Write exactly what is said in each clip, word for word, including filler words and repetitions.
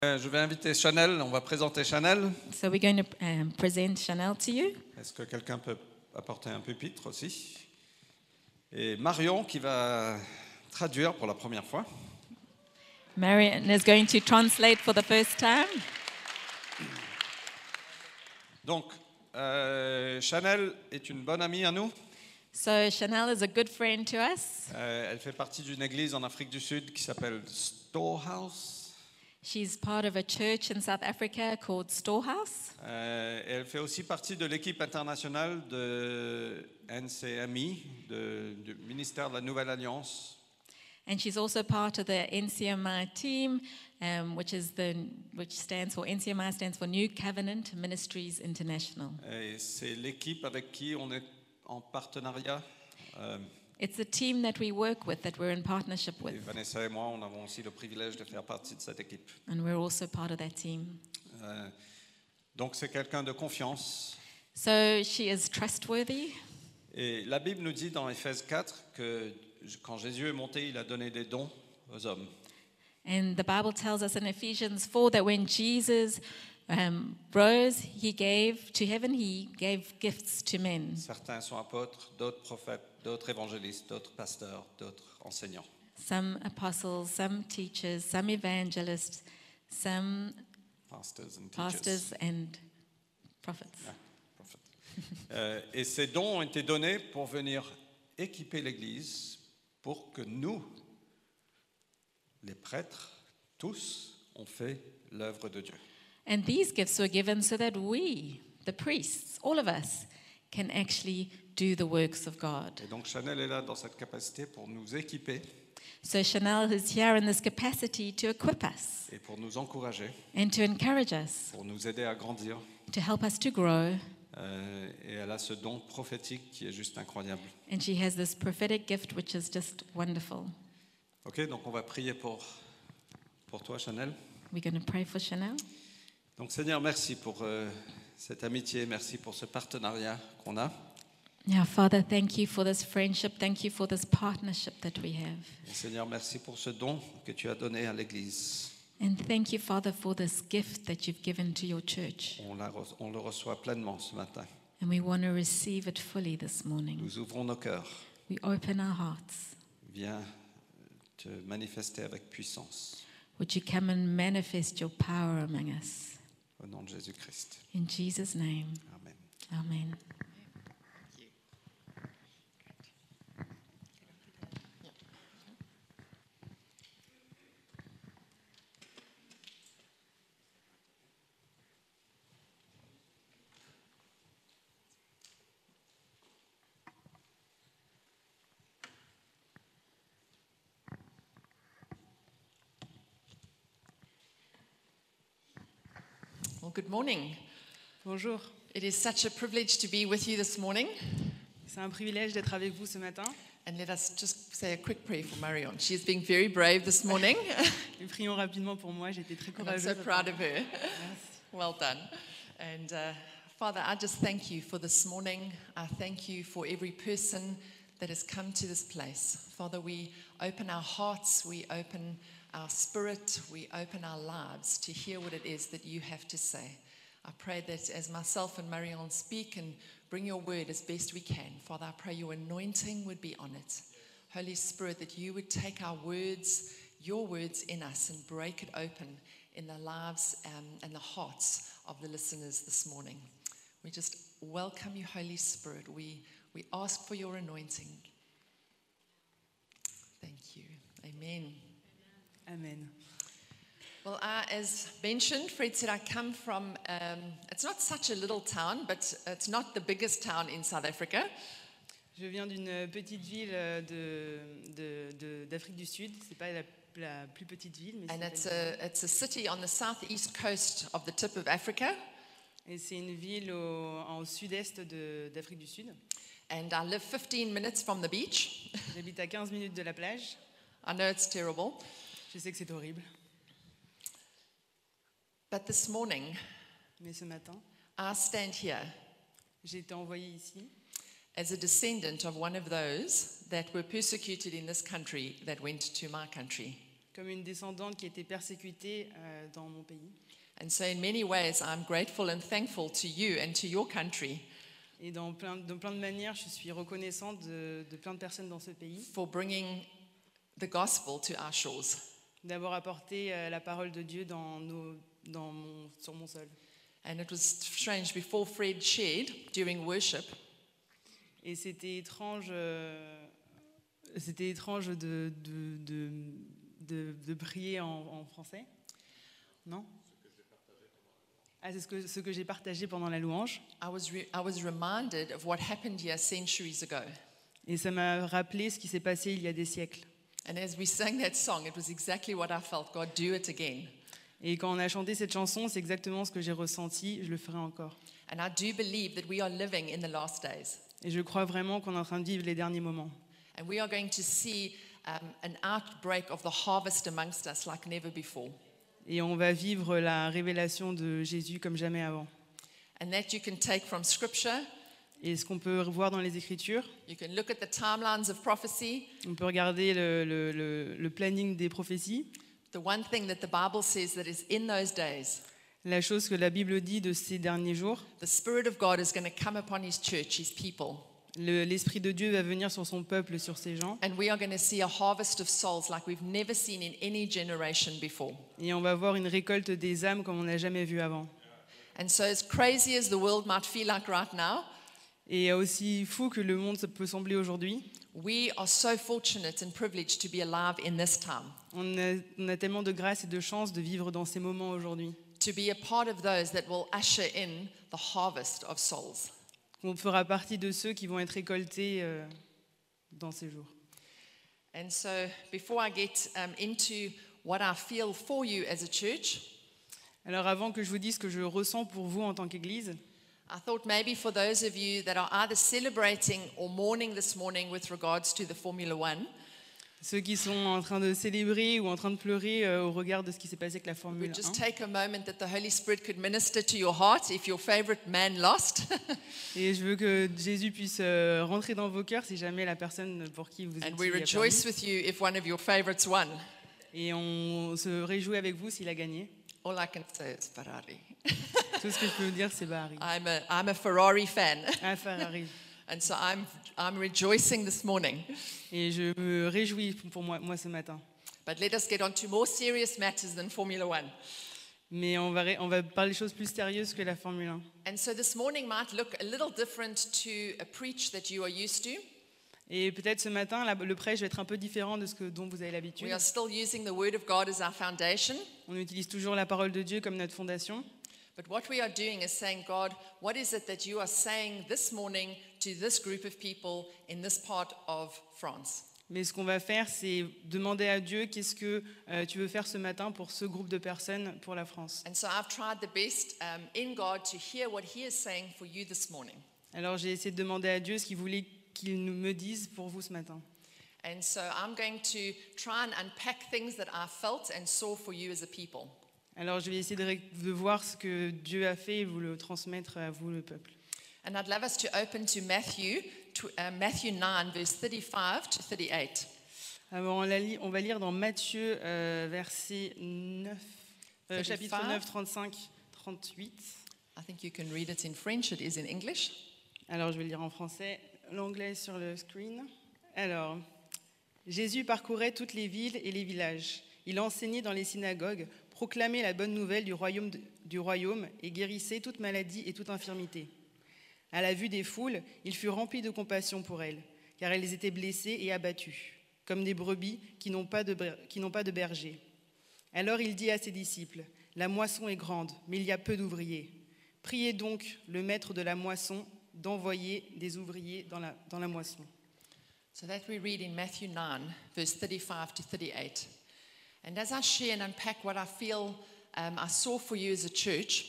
Euh, Je vais inviter Chanel, on va présenter Chanel. So we're going to um, present Chanel to you. Est-ce que quelqu'un peut apporter un pupitre aussi? Et Marion qui va traduire pour la première fois. Marion is going to translate for the first time. Donc, euh, Chanel est une bonne amie à nous. So Chanel is a good friend to us. Euh, elle fait partie d'une église en Afrique du Sud qui s'appelle Storehouse. She's part of a church in South Africa called Storehouse. Euh, et elle fait aussi partie de l'équipe internationale de N C M I, de- du ministère de la Nouvelle Alliance. And she's also part of the N C M I team, um, which is the which stands for N C M I stands for New Covenant Ministries International. Et c'est l'équipe avec qui on est en partenariat. Euh, It's the team that we work with, that we're in partnership et with, Vanessa et moi, on avons aussi le privilège de faire partie de cette équipe. and we're also part of that team. Euh, donc c'est quelqu'un de confiance. So she is trustworthy. Et la Bible nous dit dans Éphésiens quatre que quand Jésus est monté, il a donné des dons aux hommes. And the Bible tells us in Ephesians four that when Jesus um, rose, he gave to heaven, he gave gifts to men. Certains sont apôtres, d'autres prophètes, d'autres évangélistes, d'autres pasteurs, d'autres enseignants. Some apostles, some teachers, some evangelists, some Pastors and teachers. pastors and prophets. Yeah, prophets. Euh, et ces dons ont été donnés pour venir équiper l'Église pour que nous, les prêtres, tous, on fait l'œuvre de Dieu. And these gifts were given so that we, the priests, all of us, can actually do the works of God. Et donc Chanel est là dans cette capacité pour nous équiper So Chanel is here in this capacity to equip us et pour nous encourager, and to encourage us, pour nous aider à grandir. to help us to grow. Euh, et elle a ce don prophétique qui est juste incroyable. And she has this prophetic gift which is just wonderful. Ok, donc on va prier pour, pour toi, Chanel. We're going to pray for Chanel. Donc Seigneur, merci pour euh, cette amitié, merci pour ce partenariat qu'on a. Now, Father, thank you for this friendship. Thank you for this partnership that we have. Et Seigneur, merci pour ce don que tu as donné à l'Église. And thank you, Father, for this gift that you've given to your church. On, la re- on le reçoit pleinement ce matin. And we want to receive it fully this morning. Nous ouvrons nos cœurs. We open our hearts. Viens te manifester avec puissance. Would you come and manifest your power among us? Au nom de Jésus-Christ. In Jesus' name, Amen. amen. Well, good morning. Bonjour, It is such a privilege to be with you this morning. c'est un privilège d'être avec vous ce matin. And let us just say a quick prayer for Marion. She is being very brave this morning. Et prions rapidement pour moi, j'étais très And I'm courageuse. so proud of her. Well done. And uh, Father, I just thank you for this morning. I thank you for every person that has come to this place. Father, we open our hearts, we open our spirit, we open our lives to hear what it is that you have to say. I pray that as myself and Marion speak and bring your word as best we can, Father, I pray your anointing would be on it. Holy Spirit, that you would take our words, your words in us, and break it open in the lives um, and the hearts of the listeners this morning. We just welcome you, Holy Spirit. We, we ask for your anointing. Thank you. Amen. Amen. Well, uh, as mentioned, Fred said I come from, um, it's not such a little town, but it's not the biggest town in South Africa. Je viens d'une petite ville de, de, de- d'Afrique du Sud. C'est pas la, la plus petite ville, mais And it's c'est, a, it's a city on the southeast coast of the tip of Africa. et c'est une ville au, au sud-est de, d'Afrique du Sud. And I live fifteen minutes from the beach. J'habite à quinze minutes de la plage. I know it's terrible. Je sais que c'est horrible, But this morning, mais ce matin, I stand here j'ai été envoyée ici as a descendant of one of those that were persecuted in this country that went to my country. comme une descendante qui était persécutée euh, dans mon pays. And so, in many ways, I'm grateful and thankful to you and to your country Et dans plein, dans plein de manières, je suis reconnaissante de, de plein de personnes dans ce pays for bringing the gospel to our shores. d'avoir apporté euh, la parole de Dieu dans nos, dans mon, sur mon sol. And it was strange, before Fred shared during worship, Et c'était étrange, euh, c'était étrange de, de, de, de, de prier en, en français. Non? Ah, c'est ce que, ce que j'ai partagé pendant la louange. I was, re- I was reminded of what happened here centuries ago. Et ça m'a rappelé ce qui s'est passé il y a des siècles. And as we sang that song, it was exactly what I felt. God, do it again. Et quand on a chanté cette chanson, c'est exactement ce que j'ai ressenti, je le ferai encore. And I do believe that we are living in the last days. Et je crois vraiment qu'on est en train de vivre les derniers moments. And we are going to see um, an outbreak of the harvest amongst us like never before. Et on va vivre la révélation de Jésus comme jamais avant. And that you can take from Scripture. Et ce qu'on peut voir dans les Écritures, You can look at the timelines of prophecy. on peut regarder le, le- le- le planning des prophéties. The one thing that the Bible says that is in those days, La chose que la Bible dit de ces derniers jours, the Spirit of God is going to come upon His church, His people. le- l'Esprit de Dieu va venir sur son peuple, sur ses gens. And we are going to see a harvest of souls like we've never seen in any generation before. Et on va voir une récolte des âmes comme on n'a jamais vu avant. And so, as crazy as the world might feel like right now, Et aussi fou que le monde peut sembler aujourd'hui, we are so fortunate and privileged to be alive in this time, on a, on a tellement de grâce et de chance de vivre dans ces moments aujourd'hui. to be a part of those that will usher in the harvest of souls. On fera partie de ceux qui vont être récoltés euh, dans ces jours. And so, before I get um, into what I feel for you as a church, Alors avant que je vous dise ce que je ressens pour vous en tant qu'Église, I thought maybe for those of you that are either celebrating or mourning this morning with regards to the Formula One, ceux qui sont en train de célébrer ou en train de pleurer euh, au regard de ce qui s'est passé avec la Formule we'd just un. take a moment that the Holy Spirit could minister to your heart if your favorite man lost. Et je veux que Jésus puisse euh, rentrer dans vos cœurs si jamais la personne pour qui vous And êtes we a perdu. rejoice with you if one of your favorites won. Et on se réjouit avec vous s'il a gagné. All I can say is Ferrari. Tout ce que je peux vous dire, c'est Bahari. I'm a, I'm a Ferrari fan. Un Ferrari. And so I'm, I'm rejoicing this morning. Et je me réjouis pour moi, moi ce matin. But let us get on to more serious matters than Formula One. Mais on va, ré- on va parler de choses plus sérieuses que la Formule un. And so this morning might look a little different to a preach that you are used to. Et peut-être ce matin, la- le prêche va être un peu différent de ce que, dont vous avez l'habitude. We are still using the Word of God as our foundation. On utilise toujours la parole de Dieu comme notre fondation. But what we are doing is saying, God, what is it that you are saying this morning to this group of people in this part of France? Mais ce qu'on va faire, c'est demander à Dieu qu'est-ce que euh, tu veux faire ce matin pour ce groupe de personnes pour la France. And so I've tried the best um, in God to hear what He is saying for you this morning. Alors j'ai essayé de demander à Dieu ce qu'il voulait qu'il nous me dise pour vous ce matin. And so I'm going to try and unpack things that I felt and saw for you as a people. Alors je vais essayer de, ré- de voir ce que Dieu a fait et vous le transmettre à vous, le peuple. And I'd love us to open to Matthew, to, uh, Matthew nine, verse thirty-five to thirty-eight. Alors on, la lit- on va lire dans Matthieu, euh, verset neuf, euh, chapitre thirty-five. neuf, trente-cinq, trente-huit. I think you can read it in French, it is in English. Alors je vais le lire en français, l'anglais sur le screen. Alors, Jésus parcourait toutes les villes et les villages. Il enseignait dans les synagogues, proclamait la bonne nouvelle du royaume, de- du royaume et guérissait toute maladie et toute infirmité. À la vue des foules, il fut rempli de compassion pour elles, car elles étaient blessées et abattues, comme des brebis qui n'ont pas de, ber- qui n'ont pas de berger. Alors il dit à ses disciples, « La moisson est grande, mais il y a peu d'ouvriers. Priez donc le maître de la moisson d'envoyer des ouvriers dans la, dans la moisson. » So that we read in Matthew nine, verse thirty-five to thirty-eight. And as I share and unpack what I feel um, I saw for you as a church,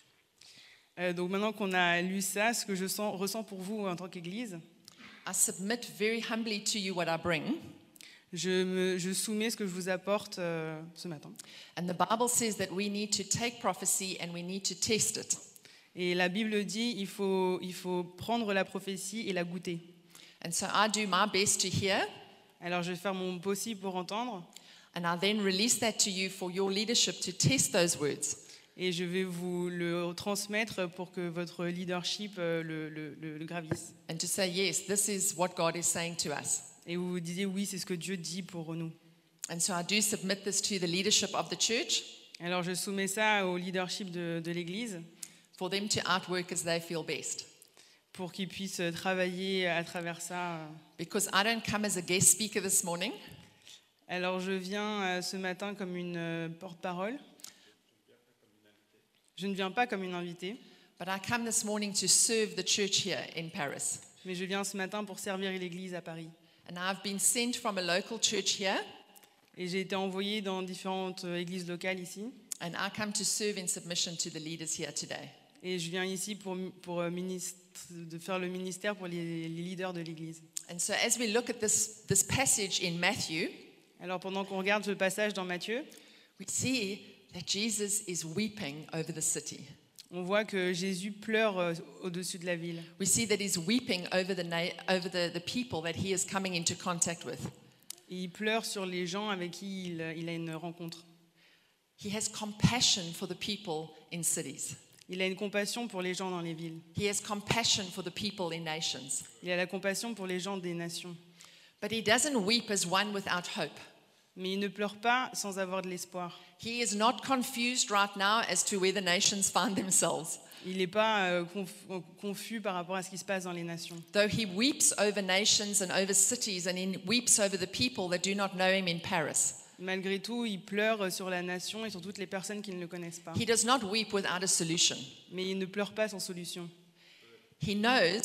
Euh, donc maintenant qu'on a lu ça, ce que je sens, ressens pour vous en tant qu'Église, I submit very humbly to you what I bring. je, me, je soumets ce que je vous apporte euh, ce matin. And the Bible says that we need to take prophecy and we need to test it. Et la Bible dit il faut, il faut prendre la prophétie et la goûter. And so I do my best to hear. Alors je vais faire mon possible pour entendre. And I then release that to you for your leadership to test those words. Et je vais vous le transmettre pour que votre leadership euh, le, le, le, le gravisse. And to say, yes, this is what God is saying to us. Et vous vous disiez, oui, c'est ce que Dieu dit pour nous. And so I do submit this to the leadership of the church Alors je soumets ça au leadership de, de l'Église for them to outwork as they feel best. pour qu'ils puissent travailler à travers ça. Because I don't come as a guest speaker this morning. Alors je viens euh, ce matin comme une euh, porte-parole. Je ne viens pas comme une invitée, But I come this morning to serve the church here in Paris. mais je viens ce matin pour servir l'Église à Paris. And I've been sent from a local church here, Et j'ai été envoyée dans différentes euh, églises locales ici. and I come to serve in submission to the leaders here today. Et je viens ici pour, pour euh, ministre, de faire le ministère pour les, les leaders de l'Église. And so as we look at this, this passage in Matthew, Alors pendant qu'on regarde ce passage dans Matthieu, we see that Jesus is weeping over the city. on voit que Jésus pleure euh, au-dessus de la ville. We see that he's weeping over the na- over the, the people that he is coming into contact with. Et il pleure sur les gens avec qui il, il a une rencontre. He has compassion for the people in cities. Il a une compassion pour les gens dans les villes. He has compassion for the people in nations. Il a la compassion pour les gens des nations. But he doesn't weep as one without hope. Mais il ne pleure pas sans avoir de l'espoir. He is not confused right now as to where the nations find themselves. Il n'est pas euh, conf- confus par rapport à ce qui se passe dans les nations. Though he weeps over nations and over cities, and he weeps over the people that do not know him in Paris, Malgré tout, il pleure sur la nation et sur toutes les personnes qui ne le connaissent pas. he does not weep without a solution. Mais il ne pleure pas sans solution. He knows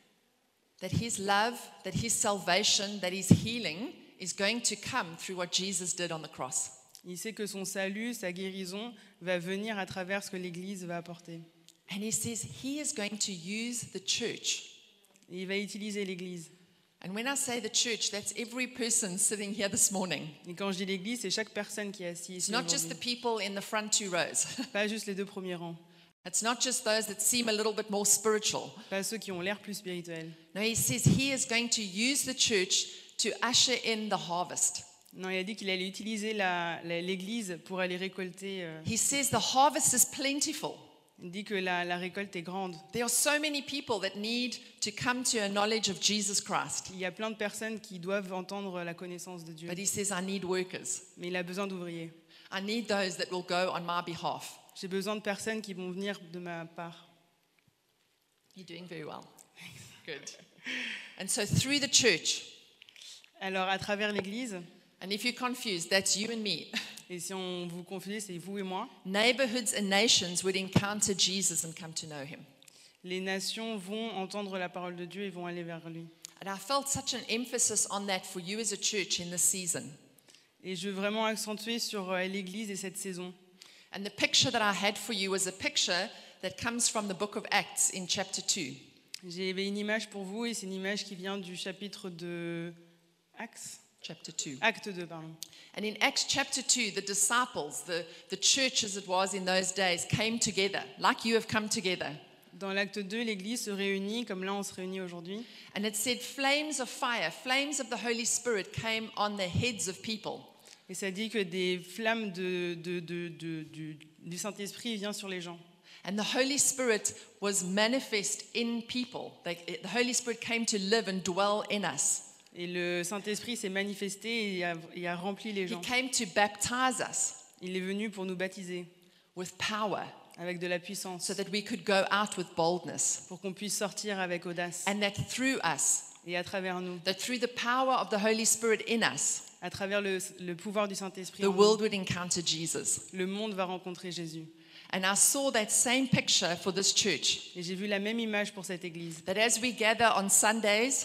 that his love, that his salvation, that his healing is going to come through what Jesus did on the cross. Il sait que son salut, sa guérison, va venir à travers ce que l'Église va apporter. And he says he is going to use the church. Et il va utiliser l'Église. And when I say the church, that's every person sitting here this morning. Et quand je dis l'Église, c'est chaque personne qui est assise It's ici not just the aujourd'hui. people in the front two rows. Pas juste les deux premiers rangs. It's not just those that seem a little bit more spiritual. Pas ceux qui ont l'air plus spirituels. No, he says he is going to use the church to usher in the harvest. Non, il a dit qu'il allait utiliser la- la- l'Église pour aller récolter. euh, He says the harvest is plentiful. il dit que la, la récolte est grande. There are so many people that need to come to a knowledge of Jesus Christ. Il y a plein de personnes qui doivent entendre la connaissance de Dieu. But he says, I need workers. Mais il a besoin d'ouvriers. I need those that will go on my behalf. J'ai besoin de personnes qui vont venir de ma part. You're doing very well. Good. And so through the church, Alors, à travers l'Église, and if you're confused, that's you and me, et si on vous confie, c'est vous et moi, neighborhoods and nations would encounter Jesus and come to know him. les nations vont entendre la parole de Dieu et vont aller vers lui. And I felt such an emphasis on that for you as a church in this season. Et je veux vraiment accentuer sur euh, l'Église et cette saison. And the picture that I had for you was a picture that comes from the book of Acts in chapter two. J'avais une image pour vous et c'est une image qui vient du chapitre de Actes, Chapter two. Acte deux, pardon. And in Acts chapter two, the disciples, the, the church as it was in those days, came together, like you have come together. Dans l'acte deux, l'Église se réunit comme là on se réunit aujourd'hui. And it said, flames of fire, flames of the Holy Spirit came on the heads of people. Et ça dit que des flammes de, de- de- de- du, du Saint-Esprit viennent sur les gens. And the Holy Spirit was manifest in people. Like, the Holy Spirit came to live and dwell in us. Et le Saint-Esprit s'est manifesté et a, et a rempli les He gens. came to baptize us Il est venu pour nous baptiser with power avec de la puissance, so that we could go out with boldness. pour qu'on puisse sortir avec audace. And that through us, Et à travers nous, that through the power of the Holy Spirit in us, à travers le, le pouvoir du Saint-Esprit, the en nous, world would encounter Jesus. le monde va rencontrer Jésus. And I saw that same picture for this church. Et j'ai vu la même image pour cette Église. That as we gather on Sundays,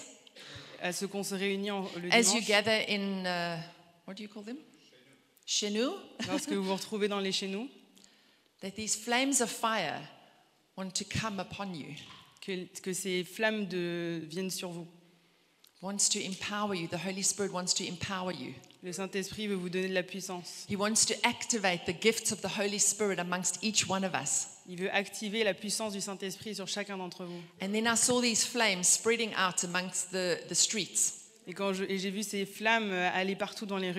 À ce qu'on se réunit en- le as you dimanche, gather in, uh, what do you call them? Chez nous, lorsque vous vous retrouvez dans les chez nous, that these flames of fire want to come upon you, que, que ces flammes de, viennent sur vous. wants to empower you. The Holy Spirit wants to empower you. Le Saint-Esprit veut vous donner de la puissance. He wants to activate the gifts of the Holy Spirit amongst each one of us. Il veut activer la puissance du Saint-Esprit sur chacun d'entre vous. And then I saw these flames spreading out amongst the, the streets. Et quand je- et j'ai vu ces flammes euh, aller partout dans les rues.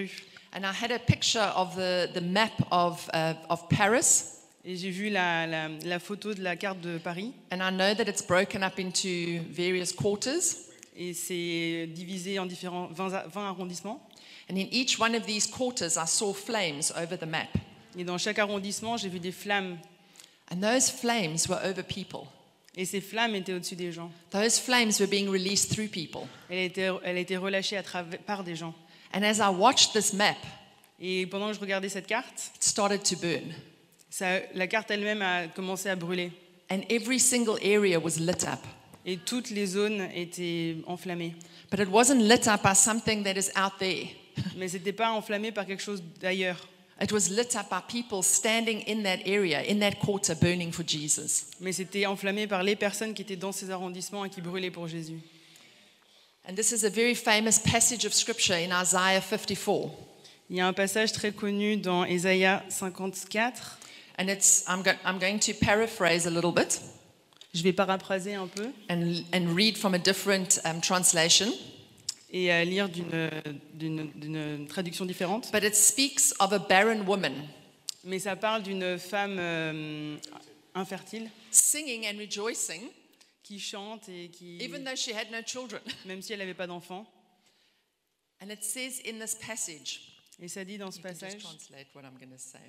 And I had a picture of the, the map of, uh, of Paris. Et j'ai vu la, la, la photo de la carte de Paris. And I know that it's broken up into various quarters. Et c'est divisé en différents vingt, vingt arrondissements. And in each one of these quarters, I saw flames over the map. Et dans chaque arrondissement, j'ai vu des flammes. And those flames were over people. Et ces flammes étaient au-dessus des gens. Those flames were being released through people. Elle a été, elle a été relâchée à travers, par des gens. And as I watched this map, Et pendant que je regardais cette carte, it started to burn. ça, la carte elle-même a commencé à brûler. And every single area was lit up. Et toutes les zones étaient enflammées. But it wasn't lit up by something that is out there. Mais ce n'était pas enflammé par quelque chose d'ailleurs. It was lit up by people standing in that area, in that quarter, burning for Jesus. Mais c'était enflammé par les personnes qui étaient dans ces arrondissements et qui brûlaient pour Jésus. And this is a very famous passage of scripture in Isaiah fifty-four. Il y a un passage très connu dans Ésaïe cinquante-quatre. And it's, I'm, go, I'm going to paraphrase a little bit Je vais paraphraser un peu and, and read from a different um, translation. et euh, lire d'une, d'une, d'une traduction différente. But it speaks of a barren woman Mais ça parle d'une femme euh, infertile singing and rejoicing, qui chante et qui, even though she had no children. même si elle n'avait pas d'enfant. And it says in this passage, Et ça dit dans ce you can just passage, translate what I'm going to say.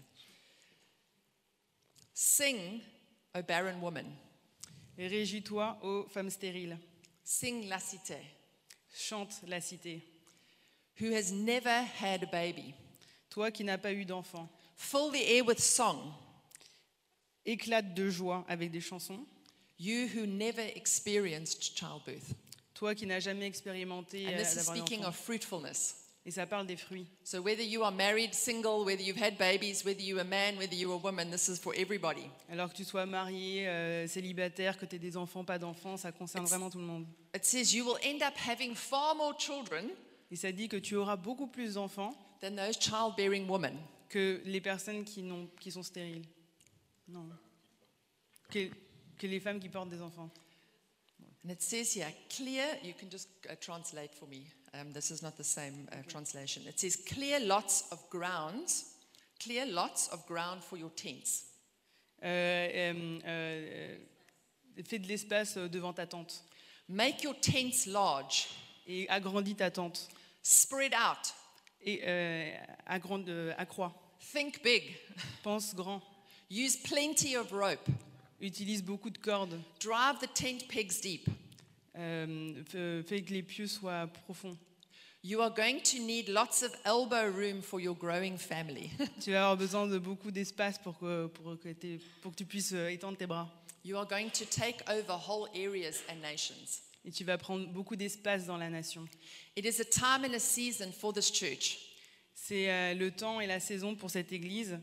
Sing, O barren woman. réjouis-toi, ô femme stérile, Sing la cité, chante la cité, who has never had a baby. toi qui n'as pas eu d'enfant, Fill the air with song, éclate de joie avec des chansons, you who never experienced childbirth. toi qui n'as jamais expérimenté And euh, this is d'avoir un speaking enfant. of fruitfulness. Et ça parle des fruits. So whether you are married, single, whether you've had babies, whether you're a man, whether you're a woman, this is for everybody. Alors que tu sois marié, euh, célibataire, que tu aies des enfants, pas d'enfants, ça concerne vraiment tout le monde. It says you will end up having far more children Et ça dit que tu auras beaucoup plus d'enfants than those childbearing women. que les personnes qui, n'ont, qui sont stériles. Non. Que, que les femmes qui portent des enfants. And it says here, clear, you can just uh, translate for me. Um, this is not the same uh, translation. It says, clear lots of grounds, clear lots of ground for your tents. Euh, euh, euh, fais de l'espace devant ta tente Make your tents large, et agrandis ta tente spread out, et euh, agrand, euh, accrois. think big, Pense grand. use plenty of rope, Utilise beaucoup de cordes. drive the tent pegs deep. Euh, fais, fais que les pieux soient profonds. You are going to need lots of elbow room for your growing family. Tu vas avoir besoin de beaucoup d'espace pour que, pour que, t'aies- pour que tu puisses euh, étendre tes bras. You are going to take over whole areas and nations. Et tu vas prendre beaucoup d'espace dans la nation. It is a time and a season for this church C'est euh, le temps et la saison pour cette église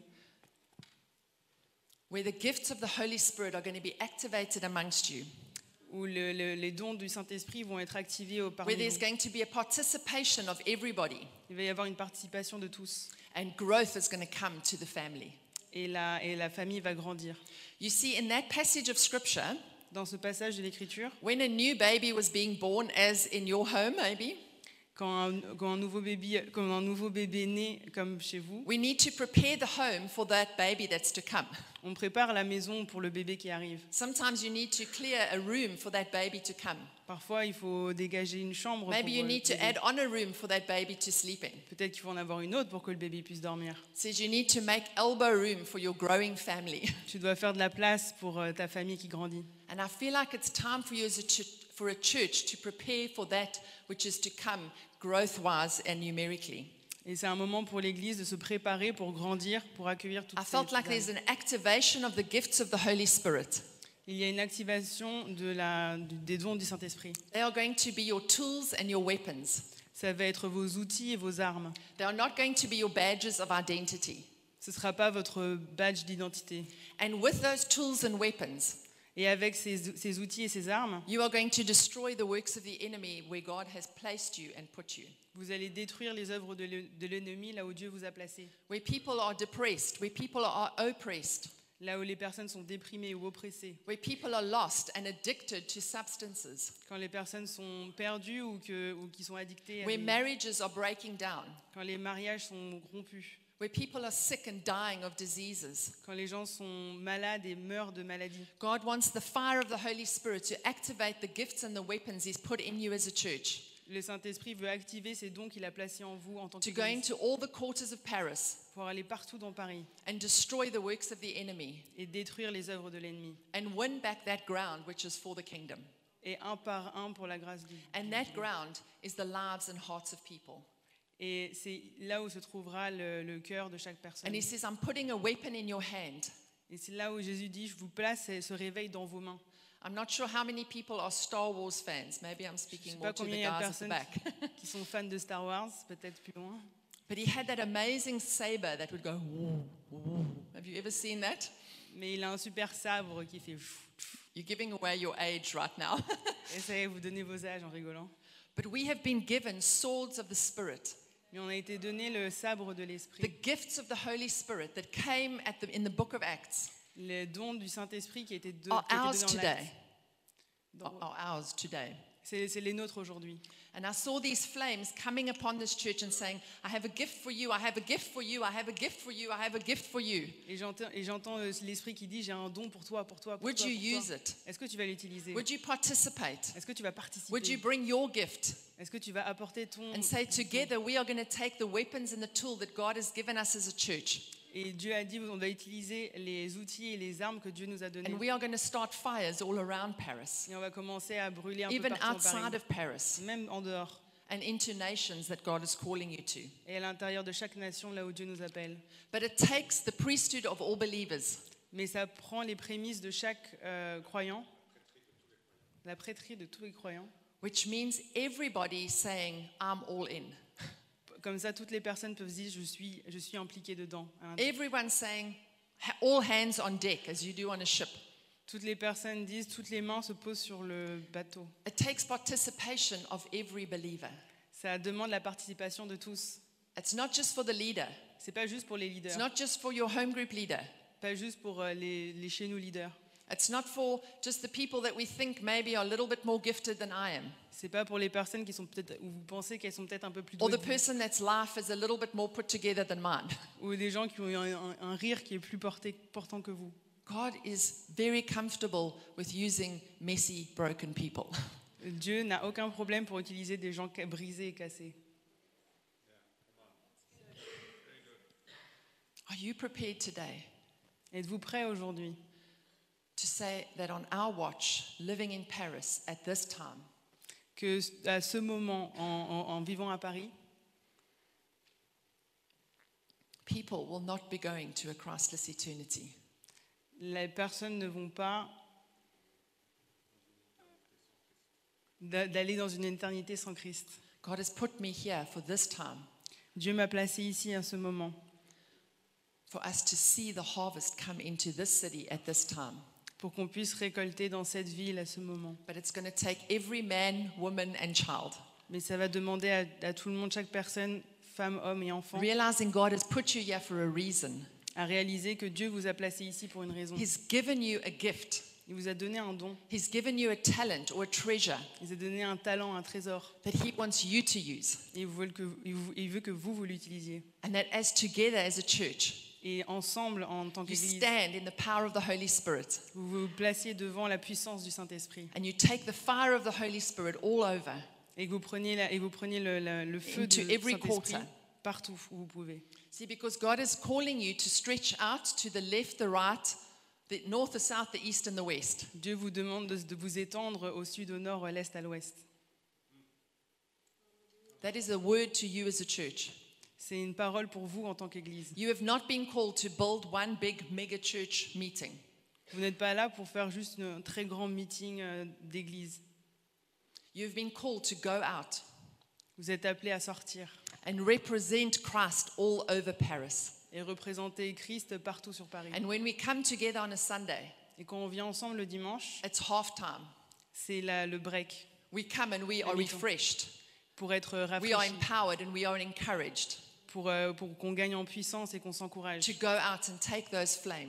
where the gifts of the Holy Spirit are going to be activated amongst you, où le- le- les dons du Saint-Esprit vont être activés au parmi where there's vous. going to be a participation of everybody, Il va y avoir une participation de tous. and growth is going to come to the family. Et la, et la famille va grandir. You see, in that passage of scripture, Dans ce passage de l'Écriture, when a new baby was being born, as in your home maybe, quand un, quand un nouveau bébé, quand un nouveau bébé naît comme chez vous, we need to prepare the home for that baby that's to come. on prépare la maison pour le bébé qui arrive. Sometimes you need to clear a room for that baby to come. Parfois, il faut dégager une chambre. Maybe pour you le need to bébé. add on a room for that baby to sleep in. Peut-être qu'il faut en avoir une autre pour que le bébé puisse dormir. It says you need to make elbow room for your growing family. Tu dois faire de la place pour euh, ta famille qui grandit. And I feel like it's time for you as a ch- for a church to prepare for that which is to come growth-wise and numerically. Et c'est un moment pour l'Église de se préparer pour grandir, pour accueillir toutes I ces felt like ces there's âmes. an activation of the gifts of the Holy Spirit. Il y a une activation de la, du- des dons du Saint-Esprit. They are going to be your tools and your weapons. Ça va être vos outils et vos armes. They are not going to be your badges of identity. Ce ne sera pas votre badge d'identité. And with those tools and weapons, Et avec ces, ces outils et ces armes, you are going to destroy the works of the enemy where God has placed you and put you. vous allez détruire les œuvres de l'e- de l'ennemi là où Dieu vous a placé. Where people are depressed, where people are oppressed, Là où les personnes sont déprimées ou oppressées, where people are lost and addicted to substances, quand les personnes sont perdues ou, que, ou qui sont addictées, à where des- marriages are breaking down, quand les mariages sont rompus, where people are sick and dying of diseases. quand les gens sont malades et meurent de maladies. God wants the fire of the Holy Spirit to activate the gifts and the weapons He's put in you as a church, Le Saint-Esprit veut activer ces dons qu'il a placés en vous en tant to go qu'Église into all the quarters of Paris pour aller partout dans Paris and destroy the works of the enemy et détruire les œuvres de l'ennemi. and win back that ground which is for the kingdom. Et un par un pour la grâce de Dieu. And that ground is the lives and hearts of people. Et c'est là où se trouvera le, le cœur de chaque personne. And He says, I'm putting a weapon in your hand. Et c'est là où Jésus dit, je vous place ce réveil dans vos mains. I'm not sure how many people are Star Wars fans. Maybe I'm Je ne speaking sais more pas to the combien il y a de guys at the personnes back. qui, qui sont fans de Star Wars, peut-être plus loin. But he had that amazing saber that would go, woo, woo. Have you ever seen that? Mais il a un super sabre qui fait... pfff, pfff. You're giving away your age right now. Et ça y est, vous donnez vos âges en rigolant. But we have been given swords of the Spirit, Mais on a été donné le sabre de the l'Esprit, gifts of the Holy Spirit that came at the, in the book of Acts les dons du Saint-Esprit qui a été don- are qui a été ours donné en today. l'acte. Are, are ours today. C'est c'est les nôtres aujourd'hui. And I saw these flames coming upon this church and saying, I have a gift for you, I have a gift for you, I have a gift for you, I have a gift for you. Et j'entends et j'entends, euh, l'Esprit qui dit, j'ai un don pour toi, pour toi, pour Would toi, you pour use toi. it? Est-ce que tu vas l'utiliser? Would you participate? Est-ce que tu vas participer? Would you bring your gift Est-ce que tu vas apporter ton... and say, ton- together we are going to take the weapons and the tool that God has given us as a church, Et Dieu a dit, on va utiliser les outils et les armes que Dieu nous a donnés. and we are going to start fires all around Paris, Et on va commencer à brûler un peu even partout en outside Paris, of Paris, même en dehors. and into nations that God is calling you to. Et à l'intérieur de chaque nation, là où Dieu nous appelle. But it takes the priesthood of all believers. Mais ça prend les prémices de chaque euh, croyant, la prêtrise de tous les croyants. Which means everybody saying, I'm all in. Comme ça, toutes les personnes peuvent dire, je suis, je suis impliqué dedans. à l'intérieur. Everyone saying, "Ha- all hands on deck, as you do on a ship. Toutes les personnes disent, toutes les mains se posent sur le bateau. It takes participation of every believer. Ça demande la participation de tous. It's not just for the leader. C'est pas juste pour les It's leaders, not just for your home group leader. pas juste pour euh, les, les chez nous leaders. It's not for just the people that we think maybe are a little bit more gifted than I am. C'est pas pour les personnes qui sont peut-être, ou vous pensez qu'elles sont peut-être un peu plus Or douées the que vous. person that's life is a little bit more put together than mine. Ou des gens qui ont un, un- un rire qui est plus porté, portant que vous. God is very comfortable with using messy, broken people. Dieu n'a aucun problème pour utiliser des gens ca- brisés et cassés. Are you prepared today Êtes-vous prêts aujourd'hui to say that on our watch, living in Paris at this time, que à ce moment, en, en- en vivant à Paris, people will not be going to a Christless eternity? les personnes ne vont pas d'a- d'aller dans une éternité sans Christ. God has put me here for this time, Dieu m'a placé ici à ce moment for us to see the harvest come into this city at this time. pour qu'on puisse récolter dans cette ville à ce moment. But it's going to take every man, woman, and child Mais ça va demander à, à tout le monde, chaque personne, femme, homme et enfant, realizing God has put you here for a reason. à réaliser que Dieu vous a placé ici pour une raison. He's given you a gift. Il vous a donné un don, He's given you a talent or a treasure il vous a donné un talent, un trésor. that He wants you to use. Et il veut que, il vous- il veut que vous, vous l'utilisiez. And that as together as a church, Et ensemble, en tant you qu'Église, stand in the power of the Holy Spirit vous vous placiez devant la puissance du Saint-Esprit. and you take the fire of the Holy Spirit all over. Et que vous preniez, la- et vous preniez le, la- le feu Into du every Saint-Esprit quarter. partout où vous pouvez. See, because God is calling you to stretch out to the left, the right, the north, the south, the east, and the west. Dieu vous demande de, de vous étendre au sud, au nord, à l'est, à l'ouest. That is a word to you as a church. C'est une parole pour vous en tant qu'Église. You have not been called to build one big mega church meeting. Vous n'êtes pas là pour faire juste un très grand meeting euh, d'église. You've been called to go out Vous êtes appelés à sortir and represent Christ all over Paris. et représenter Christ partout sur Paris. And when we come together on a Sunday, Et quand on vient ensemble le dimanche, it's half time. c'est la- le break We come and we are Mi-temps. refreshed. pour être We are rafraîchi, empowered and we are encouraged pour, euh, pour qu'on gagne en puissance et qu'on s'encourage, to go out and take those flames pour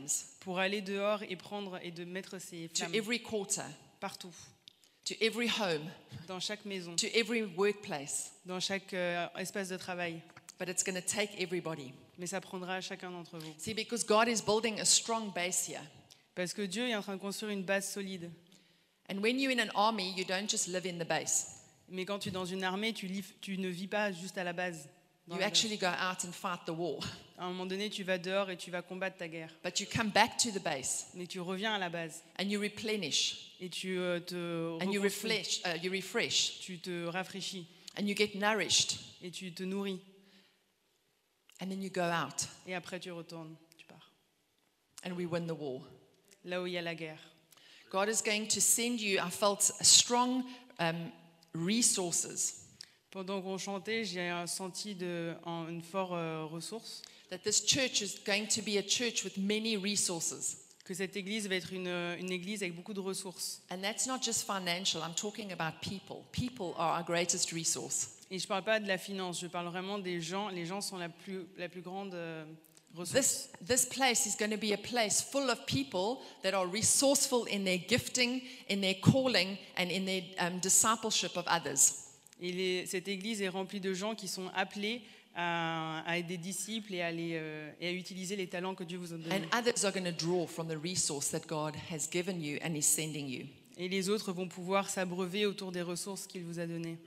pour aller dehors et prendre et de mettre ces to flammes every quarter, partout, to every home, dans chaque maison, to every workplace. dans chaque euh, espace de travail. But it's going to take everybody. Mais ça prendra chacun d'entre vous. See, because God is building a strong base here. Parce que Dieu est en train de construire une base solide. And when you're in an army, you don't just live in the base. Mais quand tu es dans une armée, tu, lis- tu ne vis pas juste à la base. dans You la base. actually go out and fight the war. À un moment donné, tu vas dehors et tu vas combattre ta guerre. But you come back to the base Mais tu reviens à la base and you replenish et tu euh, te and you reconstruis, refresh, uh, you refresh tu te rafraîchis and you get nourished. et tu te nourris. And then you go out Et après, tu retournes, tu pars. and we win the war. Là où il y a la guerre. God is going to send you, I felt, strong um, resources Pendant qu'on chantait, j'ai euh, senti de, en, une forte euh, ressource, that this church is going to be a church with many resources. que cette église va être une, une église avec beaucoup de ressources. And that's not just financial, I'm talking about people. People are our greatest resource. Et je ne parle pas de la finance, je parle vraiment des gens. Les gens sont la plus, la plus grande euh, ressource. This, this place is going to be a place full of people that are resourceful in their gifting, in their calling, and in their um, discipleship of others. Et les- cette église est remplie de gens qui sont appelés à, à être des disciples et à, les, euh, et à utiliser les talents que Dieu vous a donnés. And others are going to draw from the resource that God has given you and is sending you. Et les autres vont pouvoir s'abreuver autour des ressources qu'il vous a données.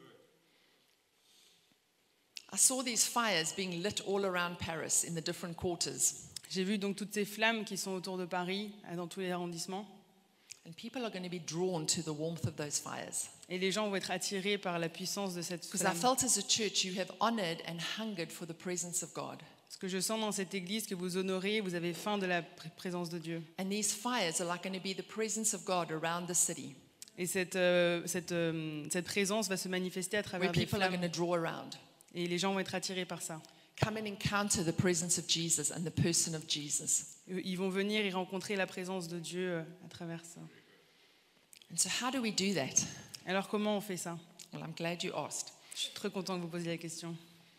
I saw these fires being lit all around Paris in the different quarters. J'ai vu donc toutes ces flammes qui sont autour de Paris, euh, dans tous les arrondissements. And people are going to be drawn to the warmth of those fires. Et les gens vont être attirés par la puissance de cette Because I flamme. felt as a church you have honored and hungered for the presence of God. Ce que je sens dans cette église, que vous honorez, vous avez faim de la pr- présence de Dieu. And these fires are like going to be the presence of God around the city, Et cette, euh, cette, euh, cette présence va se manifester à where travers des people are going flammes. to draw around. Et les gens vont être attirés par ça. Come and encounter the presence of Jesus and the person of Jesus. Ils vont venir et rencontrer la présence de Dieu euh, à travers ça. And so, how do we do that? Alors comment on fait ça? Well, I'm glad you asked. Je suis très content que vous posiez la question.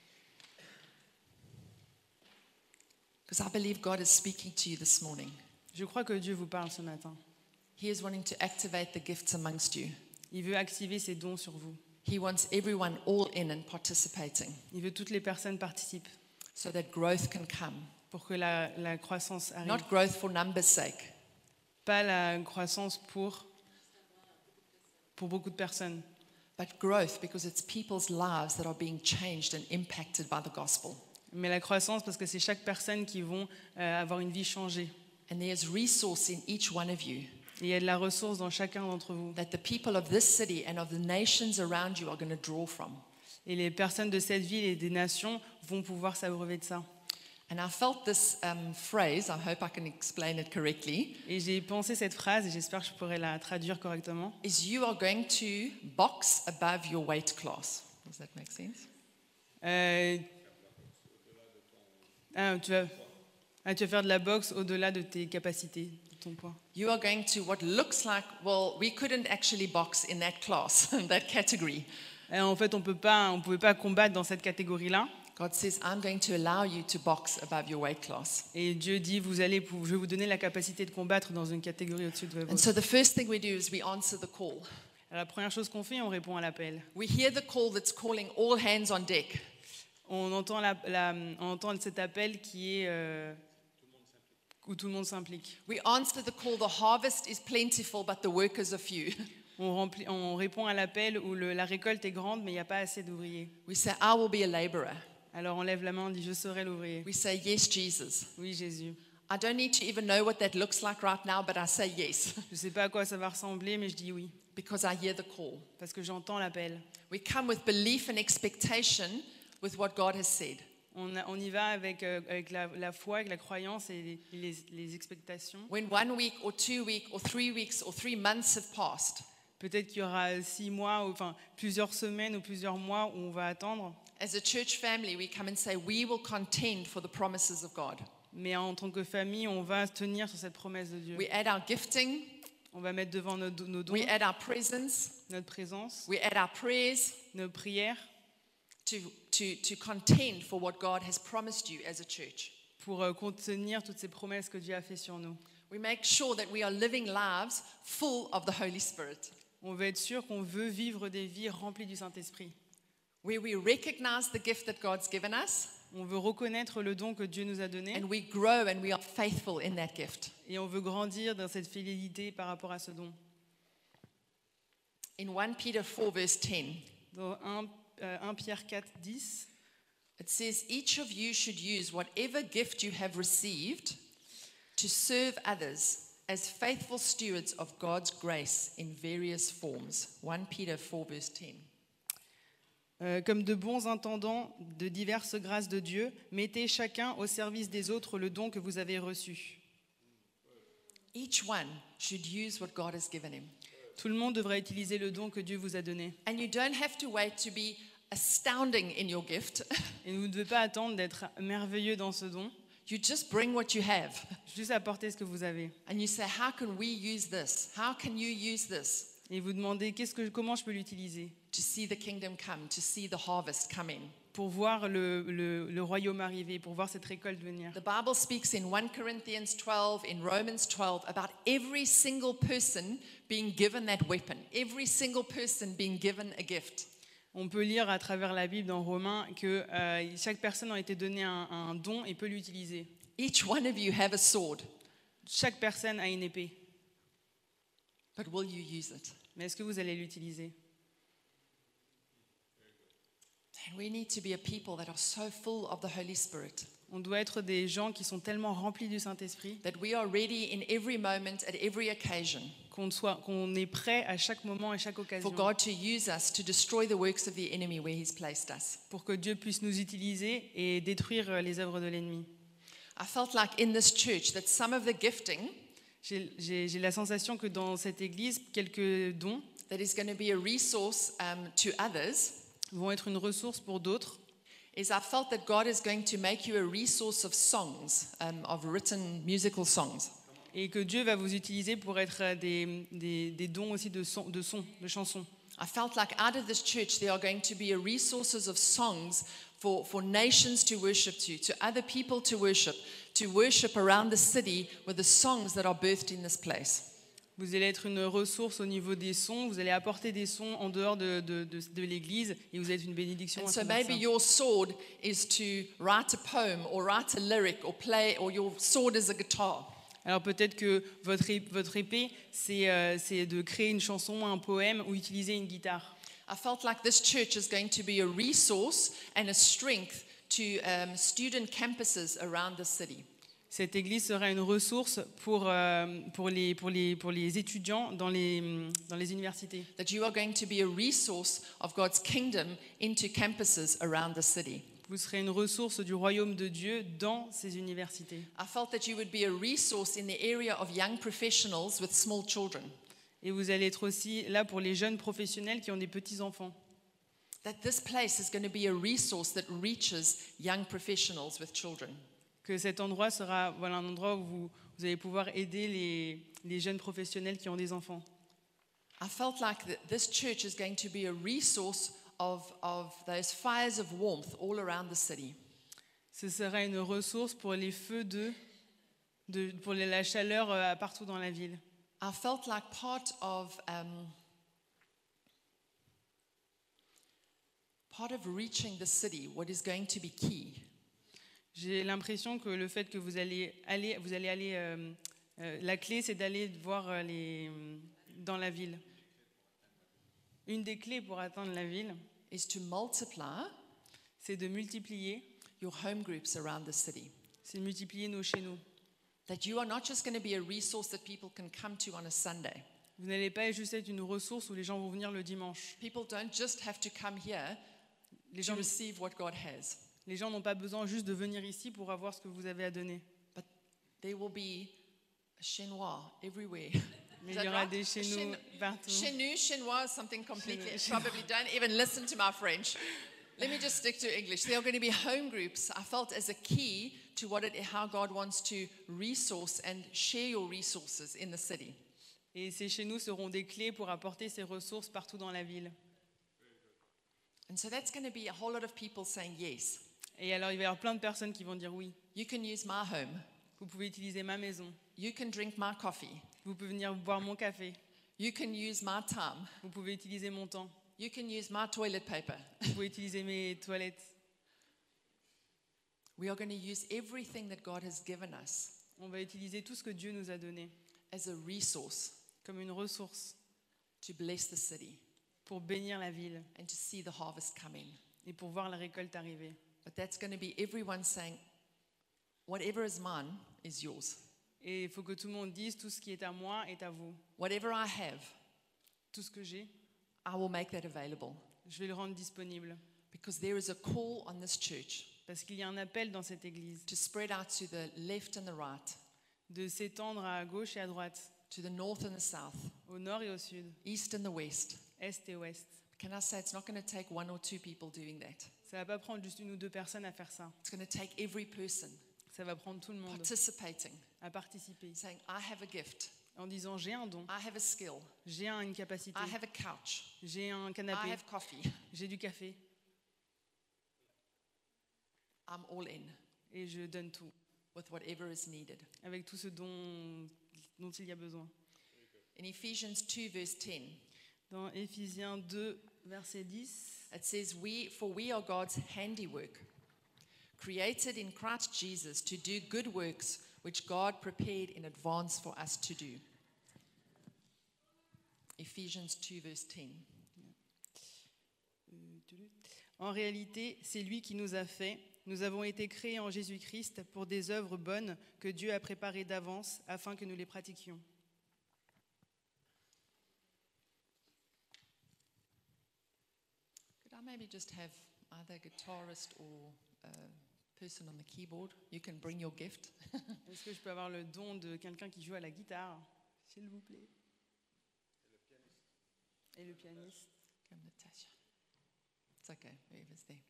Because I believe God is speaking to you this morning. Je crois que Dieu vous parle ce matin. He is wanting to activate the gifts amongst you. Il veut activer ses dons sur vous. He wants everyone all in and participating Il veut que toutes les personnes participent so that growth can come. pour que la, la croissance arrive. Not growth for numbers' sake, Pas la croissance pour, pour beaucoup de personnes, but growth because it's people's lives that are being changed and impacted by the gospel. mais la croissance parce que c'est chaque personne qui vont euh, avoir une vie changée. And there's resource in each one of you Et il y a de la ressource dans chacun d'entre vous. that the people of this city and of the nations around you are going to draw from. Et les personnes de cette ville et des nations vont pouvoir s'abreuver de ça. And I felt this um, phrase, I hope I can explain it correctly, Et j'ai pensé cette phrase, et j'espère que je pourrai la traduire correctement. is you are going to box above your weight class. Does that make sense? Euh, ah, tu, vas, ah, tu vas faire de la boxe au-delà de tes capacités, de ton poids. You are going to what looks like, well, we couldn't actually box in that class, that category. Et en fait, on ne pouvait pas combattre dans cette catégorie-là. God says, I'm going to allow you to box above your weight class. Et Dieu dit, vous allez, pou- je vais vous donner la capacité de combattre dans une catégorie au-dessus de And votre. so the first thing we do is we answer the call. Alors, la première chose qu'on fait, on répond à l'appel. We hear the call that's calling all hands on deck. On entend, la, la- on entend cet appel qui est euh, où tout le monde s'implique. We answer the call, the harvest is plentiful, but the workers are few. On, remplit- on répond à l'appel où le- la récolte est grande, mais il n'y a pas assez d'ouvriers. We say, I will be a laborer. Alors on lève la main, on dit, je serai l'ouvrier. We say, yes, Jesus. Oui, Jésus. I don't need to even know what that looks like right now, but I say yes, Je ne sais pas à quoi ça va ressembler, mais je dis oui, because I hear the call. parce que j'entends l'appel. We come with belief and expectation with what God has said. On, a- on y va avec, euh, avec la, la foi, avec la croyance et les, les- les expectations. When one week or two weeks or three weeks or three months have passed, Peut-être qu'il y aura six mois, ou, enfin plusieurs semaines ou plusieurs mois où on va attendre. as a church family, we come and say, we will contend for the promises of God. Mais en tant que famille, on va tenir sur cette promesse de Dieu. We add our gifting, On va mettre devant nos, nos dons, we add our presence, notre présence, we add our prayers nos prières to, to, to contend for what God has promised you as a church. pour euh, contenir toutes ces promesses que Dieu a fait sur nous. We make sure that we are living lives full of the Holy Spirit, On veut être sûr qu'on veut vivre des vies remplies du Saint-Esprit. where we recognize the gift that God's given us, On veut reconnaître le don que Dieu nous a donné and we grow and we are faithful in that gift. et on veut grandir dans cette fidélité par rapport à ce don. In First Peter four, verse ten, Dans un, euh, un Pierre quatre, dix, it says, each of you should use whatever gift you have received to serve others as faithful stewards of God's grace in various forms. First Peter four, verse ten. Euh, comme de bons intendants de diverses grâces de Dieu, mettez chacun au service des autres le don que vous avez reçu. Each one should use what God has given him. Tout le monde devrait utiliser le don que Dieu vous a donné. And you don't have to wait to be astounding in your gift. Et vous ne devez pas attendre d'être merveilleux dans ce don, You just bring what you have. juste apporter ce que vous avez. And you say, how can we use this? How can you use this Et vous demandez qu'est-ce que, comment je peux l'utiliser to see the kingdom come, to see the harvest come in? pour voir le, le, le royaume arriver, pour voir cette récolte venir. The Bible speaks in First Corinthians twelve, in Romans twelve, about every single person being given that weapon, every single person being given a gift. On peut lire à travers la Bible dans Romains que euh, chaque personne a été donnée un, un don et peut l'utiliser. Each one of you have a sword, Chaque personne a une épée. but will you use it? Mais est-ce que vous allez l'utiliser? And we need to be a people that are so full of the Holy Spirit On doit être des gens qui sont tellement remplis du Saint-Esprit that we are ready in every moment, at every occasion, qu'on soit, qu'on est prêt à chaque moment et chaque occasion for God to use us to destroy the works of the enemy where He's placed us. pour que Dieu puisse nous utiliser et détruire les œuvres de l'ennemi. I felt like in this church that some of the gifting J'ai, j'ai, j'ai la sensation que dans cette église, quelques dons that is going to be a resource um, to others vont être une ressource pour d'autres. is I felt that God is going to make you a resource of songs, um, of written musical songs. Et que Dieu va vous utiliser pour être des, des, des dons aussi de sons, de, sons, de chansons. I felt like out of this church there are going to be a resources of songs for, for nations to worship to, to other people to worship, to worship around the city with the songs that are birthed in this place. Vous allez être une ressource au niveau des sons, vous allez apporter des sons en dehors de, de, de, de l'église et vous êtes une bénédiction. And à so travers maybe ça. your sword is to write a poem or write a lyric or play, or your sword is a guitar. Alors peut-être que votre, é- votre épée, c'est, euh, c'est de créer une chanson, un poème ou utiliser une guitare. I felt like this church is going to be a resource and a strength to um, student campuses around the city. Cette église sera une ressource pour, euh, pour, les, pour, les, pour les étudiants dans les, dans les universités. That you are going to be a resource of God's kingdom into campuses around the city. Vous serez une ressource du royaume de Dieu dans ces universités. I felt that you would be a resource in the area of young professionals with small children. Et vous allez être aussi là pour les jeunes professionnels qui ont des petits-enfants. That this place is going to be a resource that reaches young professionals with children. Que cet endroit sera voilà, un endroit où vous, vous allez pouvoir aider les, les jeunes professionnels qui ont des enfants. I felt like that this church is going to be a resource of, of those fires of warmth all around the city. Ce sera une ressource pour les feux de, de pour les- la chaleur euh, partout dans la ville. I felt like part of um, part of reaching the city, what is going to be key, J'ai l'impression que le fait que vous allez aller, vous allez aller, euh, euh, la clé, c'est d'aller voir euh, les, dans la ville. Une des clés pour atteindre la ville, is to multiply c'est de multiplier, your home groups around the city. c'est de multiplier nos chez nous. That you are not just going to be a resource that people can come to on a Sunday. Vous n'allez pas juste être une ressource où les gens vont venir le dimanche. People don't just have to come here Les to gens, receive what God has, les gens n'ont pas besoin juste de venir ici pour avoir ce que vous avez à donner. but there will be a chinois everywhere. Mais Is il y that aura right? des chez nous Chen- partout. Chenu, chinois, something completely. Chinois. Probably don't even listen to my French. Let me just stick to English. There are going to be home groups. I felt as a key to what it, how God wants to resource and share your resources in the city. Et ces chez nous seront des clés pour apporter ces ressources partout dans la ville. And so that's going to be a whole lot of people saying yes. Et alors il va y avoir plein de personnes qui vont dire oui. You can use my home. Vous pouvez utiliser ma maison. You can drink my coffee. Vous pouvez venir boire mon café. You can use my time. Vous pouvez utiliser mon temps. You can use my toilet paper. Vous pouvez utiliser mes toilettes. We are going to use everything that God has given us On va utiliser tout ce que Dieu nous a donné as a resource comme une ressource to bless the city pour bénir la ville and to see the harvest coming. et pour voir la récolte arriver. But that's going to be everyone saying, whatever is mine is yours. Et il faut que tout le monde dise tout ce qui est à moi est à vous. Whatever I have, Tout ce que j'ai, I will make that available. je vais le rendre disponible. Because there is a call on this church Parce qu'il y a un appel dans cette église to spread out to the left and the right, de s'étendre à gauche et à droite, to the north and the south, au nord et au sud, east and the west. est et ouest. Can I say it's not going to take one or two people doing that? Ça va pas prendre juste une ou deux personnes à faire ça. It's going to take every person Ça va prendre tout le monde participating, à participer saying, I have a gift, en disant j'ai un don, I have a skill, j'ai un- une capacité, I have a couch, j'ai un I canapé, have coffee, j'ai du café I'm all in et je donne tout with whatever is needed. avec tout ce dont, dont il y a besoin. In Ephesians two, verse ten, Dans Éphésiens deux, verset dix, it says, we, For we are God's handiwork, created in Christ Jesus to do good works which God prepared in advance for us to do. Ephesians two, verse ten. en réalité, c'est lui qui nous a fait. Nous avons été créés en Jésus-Christ pour des œuvres bonnes que Dieu a préparées d'avance afin que nous les pratiquions. Could I maybe just have either a guitarist or a person on the keyboard? You can bring your gift. Est-ce que je peux avoir le don de quelqu'un qui joue à la guitare, s'il vous plaît? Et le pianiste. Come, Natasha. It's okay, whoever's there.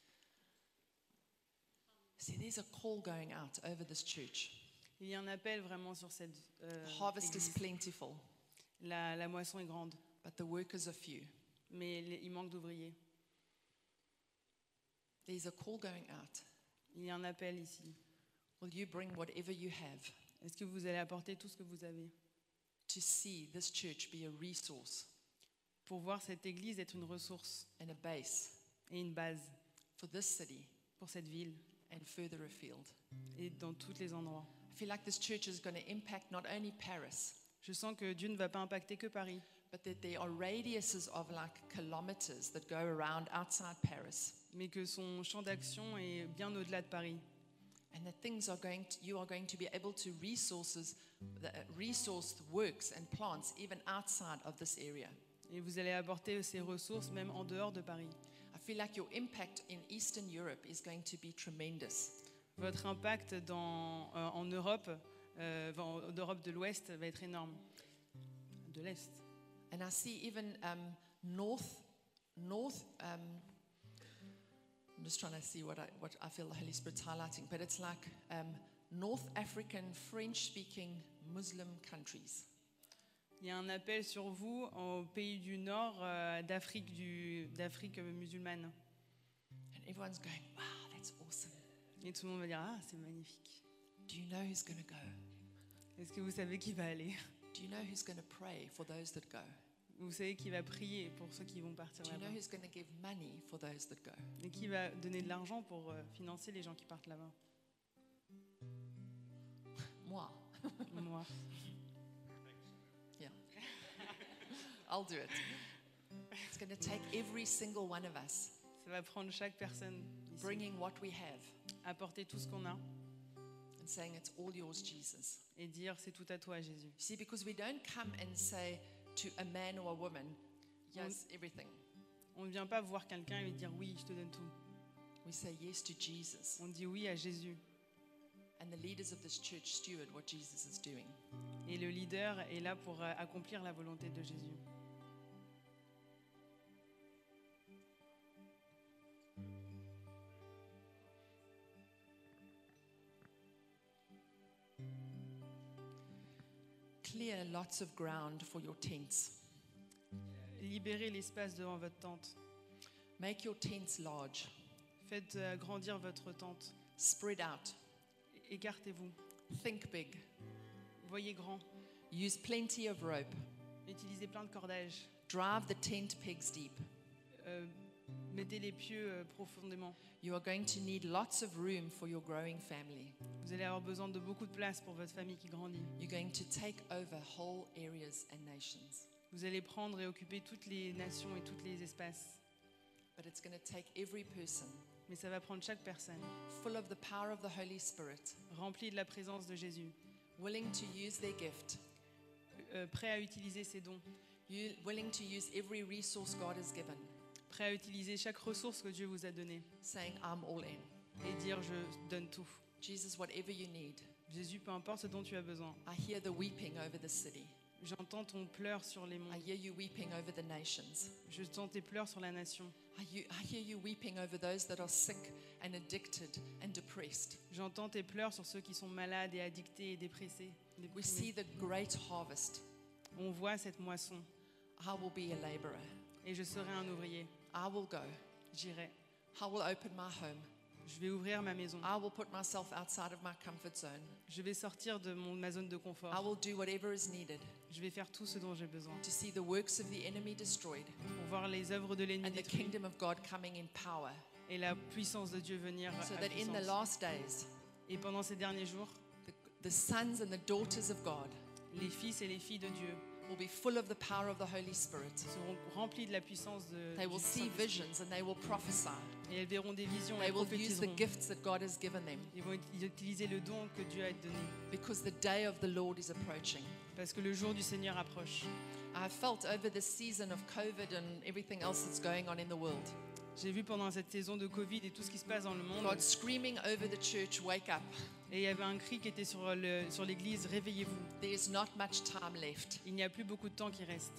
See, there's a call going out over this church. Il y a un appel vraiment sur cette euh, The harvest is église. plentiful, La, la moisson est grande, but the workers are few. mais les- il manque d'ouvriers. There's a call going out. Il y a un appel ici. Will you bring whatever you have Est-ce que vous allez apporter tout ce que vous avez to see this church be a resource pour voir cette église être une ressource and a base et une base for this city pour cette ville and further afield? et dans tous les endroits? I feel like this church is going to impact not only Paris, Je sens que Dieu ne va pas impacter que Paris, but that there are radiuses of like kilometers that go around outside Paris, mais que son champ d'action est bien au-delà de Paris. and that things are going to, you are going to be able to resources, the, uh, resource works and plants even outside of this area. Et vous allez apporter ces ressources même en dehors de Paris. I feel like your impact in Eastern Europe is going to be tremendous. Votre impact dans, euh, en Europe, euh, en Europe de l'Ouest, va être énorme. De l'Est. And I see even um, north, north. Um, I'm just trying to see what I what I feel the Holy Spirit's highlighting, but it's like um, North African French-speaking Muslim countries. Il y a un appel sur vous au pays du Nord euh, d'Afrique du, d'Afrique musulmane. And everyone's going, wow, that's awesome. Et tout le monde va dire ah c'est magnifique. Do you know who's going to go? Est-ce que vous savez qui va aller? Do you know who's going to pray for those that go? Vous savez qui va prier pour ceux qui vont partir Do you know là-bas? who's going to give money for those that go? Et qui va donner de l'argent pour euh, financer les gens qui partent là-bas? Moi. Moi. Yeah. I'll do it. It's going to take every single one of us Ça va prendre chaque personne ici, bringing what we have apporter tout ce qu'on a and saying, it's all yours, Jesus. et dire c'est tout à toi Jésus. See, because we don't come and say to a man or a woman, yes, everything. On ne vient pas voir quelqu'un et lui dire oui je te donne tout. We say yes to Jesus. On dit oui à Jésus. And the leaders of this church steward what Jesus is doing. Et le leader est là pour euh, accomplir la volonté de Jésus. Clear lots of ground for your tents. Libérez l'espace devant votre tente. Make your tents large. Faites euh, grandir votre tente. Spread out. Écartez-vous. Think big. Voyez grand. Use plenty of rope. Utilisez plein de cordages. Drive the tent pegs deep. Euh, mettez les pieux euh, profondément. You are going to need lots of room for your growing family. Vous allez avoir besoin de beaucoup de place pour votre famille qui grandit. You're going to take over whole areas and nations. Vous allez prendre et occuper toutes les nations et tous les espaces. But it's going to take every person Mais ça va prendre chaque personne, full of the power of the Holy Spirit, remplie de la présence de Jésus, willing to use their gift, euh, prêt à utiliser ses dons, you, willing to use every resource God has given, prêt à utiliser chaque ressource que Dieu vous a donnée saying, I'm all in. et dire je donne tout. Jesus, whatever you need. Jésus, peu importe ce dont tu as besoin. I hear the weeping over the city. J'entends ton pleur sur les I monts. hear you weeping over the nations. Je sens tes pleurs sur la nation. I hear, I hear you weeping over those that are sick and addicted and depressed. J'entends tes pleurs sur ceux qui sont malades et addictés et dépressés. We see déprimés. the great harvest. On voit cette moisson I will be a laborer. et je serai un ouvrier. I will go. J'irai. I will open my home. Je vais ouvrir ma maison. I will put myself outside of my comfort zone. Je vais sortir de mon, ma zone de I confort. will do whatever is needed Je vais faire tout ce dont j'ai besoin to see the works of the enemy destroyed pour voir les œuvres de l'ennemi and the détruites kingdom of God coming in power. et la puissance de Dieu venir So à that in the puissance. last days, Et pendant ces derniers jours, the, the sons and the daughters of God les fils et les filles de Dieu will be full of the power of the Holy Spirit. seront remplis de la puissance de They du will see Saint-Esprit. visions and they will prophesy. Et elles verront des visions et They elles will use the prophétiseront. gifts that God has given them Ils vont ut- utiliser le don que Dieu a donné because the day of the Lord is approaching. parce que le jour du Seigneur approche. I have felt over this season of COVID and everything else that's going on in the world, J'ai vu pendant cette saison de Covid et tout ce qui se passe dans le monde, God screaming over the church, wake up. et il y avait un cri qui était sur le- sur l'église, réveillez-vous. There is not much time left. Il n'y a plus beaucoup de temps qui reste.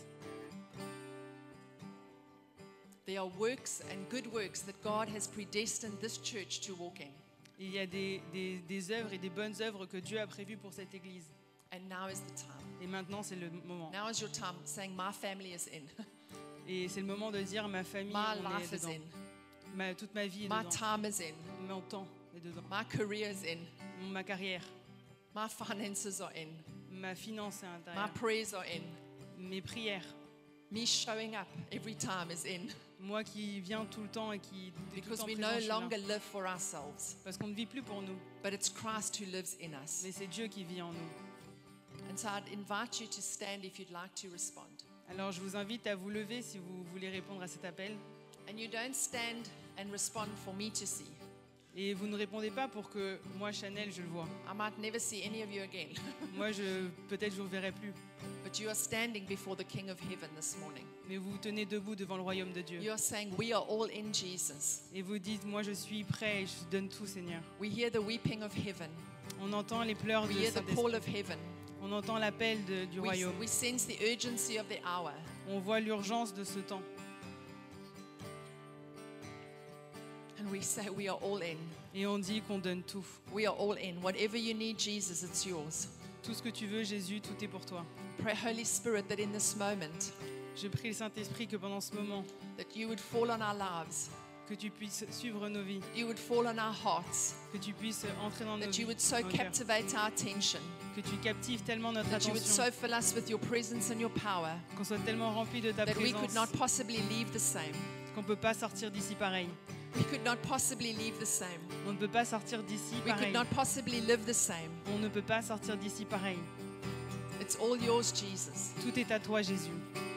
There are works and good works that God has predestined this church to walk in. Il y a des, des, des œuvres et des bonnes œuvres que Dieu a prévues pour cette église. And now is the time. Et maintenant, c'est le moment. Now is your time saying, my family is in. Et c'est le moment de dire, ma famille, My on life est is dedans. in. Ma, toute ma vie est My dedans. time is in. Mon temps est dedans. My career is in. Ma carrière, My finances are in. ma finance est à My l'intérieur. prayers are in. Mes prières. Me showing up every time is in. Moi qui viens tout le temps et qui est tout le Because temps we présent, no je suis là. longer live for ourselves, Parce qu'on ne vit plus pour nous, but it's Christ who lives in us. mais c'est Dieu qui vit en nous. And so I'd invite you to stand if you'd like to respond. Alors je vous invite à vous lever si vous voulez répondre à cet appel. And you don't stand and respond for me to see. Et vous ne répondez pas pour que moi, Chanel, je le vois. I might never see any of you again. Moi, je, peut-être je ne vous verrai plus. But you are standing before the King of Heaven this morning. Mais vous vous tenez debout devant le royaume de Dieu. You are saying, we are all in Jesus. Et vous dites, moi je suis prêt et je donne tout, Seigneur. We hear the weeping of heaven. On entend les pleurs We de hear the Saint-Esprit. call of heaven. On entend l'appel de- du We, royaume. we sense the urgency of the hour. On voit l'urgence de ce temps. And we say, we are all in. Et on dit qu'on donne tout. We are all in. Whatever you need, Jesus, it's yours. Tout ce que tu veux, Jésus, tout est pour toi. Pray, Holy Spirit, that in this moment, Je prie le Saint-Esprit que pendant ce moment, that you would fall on our lives, que tu puisses suivre nos vies, you would fall on our hearts, que tu puisses entrer dans nos that vies, you would so dans nos cœurs, captivate our attention, que tu captives tellement notre that you would attention, so fill us with your presence and your power, qu'on soit tellement rempli de ta that we could présence, not possibly leave the same. qu'on ne peut pas sortir d'ici pareil. We could not possibly leave the same. On ne peut pas sortir d'ici We could pareil. not possibly live the same. On ne peut pas sortir d'ici pareil. It's all yours, Jesus. Tout est à toi, Jésus.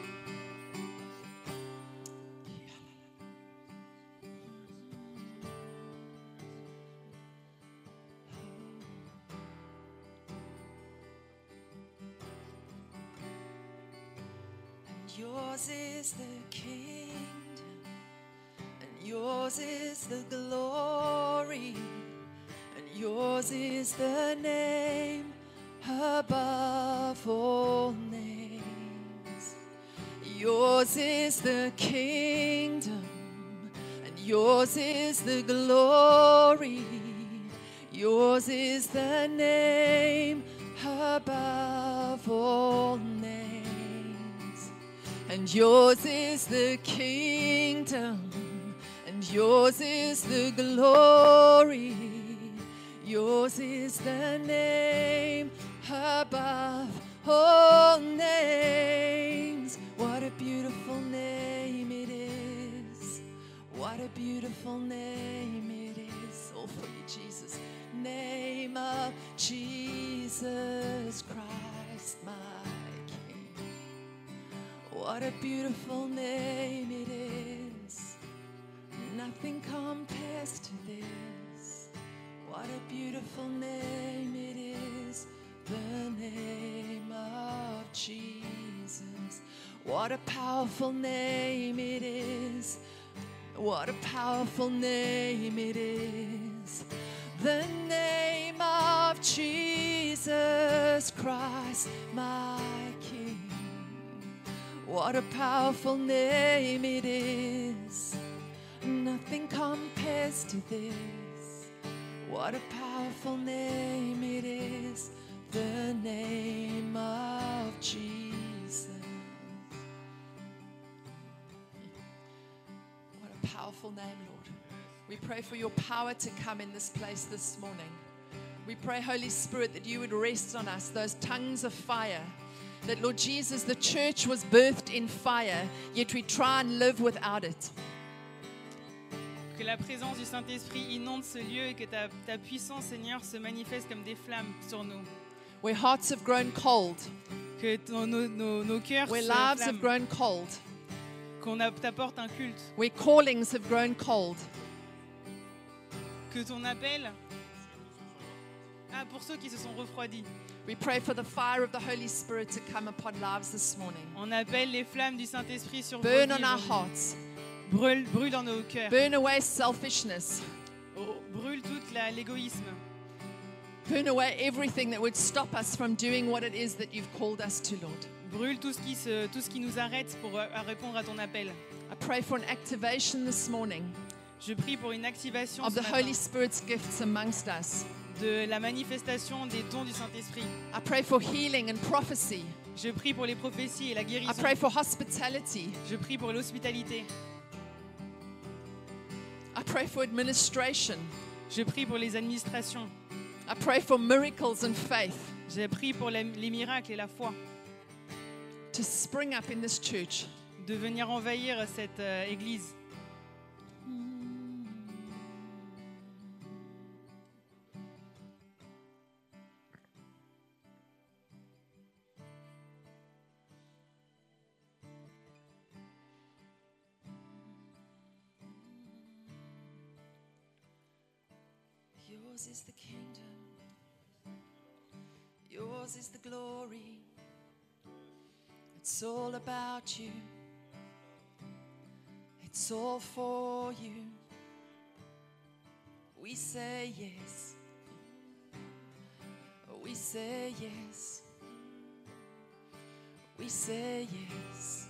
Yours is the kingdom, and yours is the glory, and yours is the name above all names. Yours is the kingdom, and yours is the glory, yours is the name above all names. And yours is the kingdom, and yours is the glory, Yours is the name above all names. What a beautiful name it is. What a beautiful name it is. All for you, Jesus. Name of Jesus Christ, my King. What a beautiful name it is. Nothing compares to this. What a beautiful name it is. The name of Jesus. What a powerful name it is. What a powerful name it is. The name of Jesus Christ, my King. What a powerful name it is. Nothing compares to this. What a powerful name it is. The name of Jesus. What a powerful name, Lord. We pray for your power to come in this place this morning. We pray, Holy Spirit, that you would rest on us, those tongues of fire. That, Lord Jesus, the church was birthed in fire, yet we try and live without it. Que la présence du Saint-Esprit inonde ce lieu et que ta, ta puissance, Seigneur, se manifeste comme des flammes sur nous. Where hearts have grown cold, Que ton- nos, nos, nos cœurs where se lives have flamment. grown cold, Qu'on a- t'apporte un culte. where callings have grown cold. Que ton appel... Ah, pour ceux qui se sont refroidis. We pray for the fire of the Holy Spirit to come upon lives this morning. On appelle les flammes du Saint-Esprit sur vos Burn vies on our aujourd'hui. hearts. Brûle, brûle dans nos cœurs. Burn away selfishness. Oh, brûle tout la- l'égoïsme. Burn away everything that would stop us from doing what it is that you've called us to, Lord. Brûle tout ce qui, se, tout ce qui nous arrête pour euh, à répondre à ton appel. I pray for an activation this morning Je prie pour une activation of ce the matin Holy Spirit's gifts amongst us. de la manifestation des dons du Saint-Esprit. I pray for healing and prophecy. Je prie pour les prophéties et la I guérison. pray for hospitality. Je prie pour l'hospitalité. I pray for administration. Je prie pour les administrations. I pray for miracles and faith Je prie pour les, les miracles et la foi to spring up in this church. de venir envahir cette euh, église. Yours is the kingdom. Yours is the glory. It's all about you. It's all for you. We say yes. We say yes. We say yes.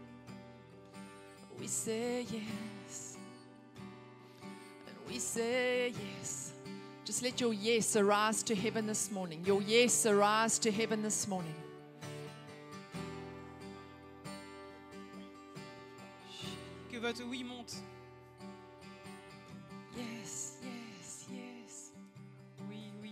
We say yes. And we say yes. Just let your yes arise to heaven this morning. Your yes arise to heaven this morning. Que votre oui monte. Yes, yes, yes. Oui, oui.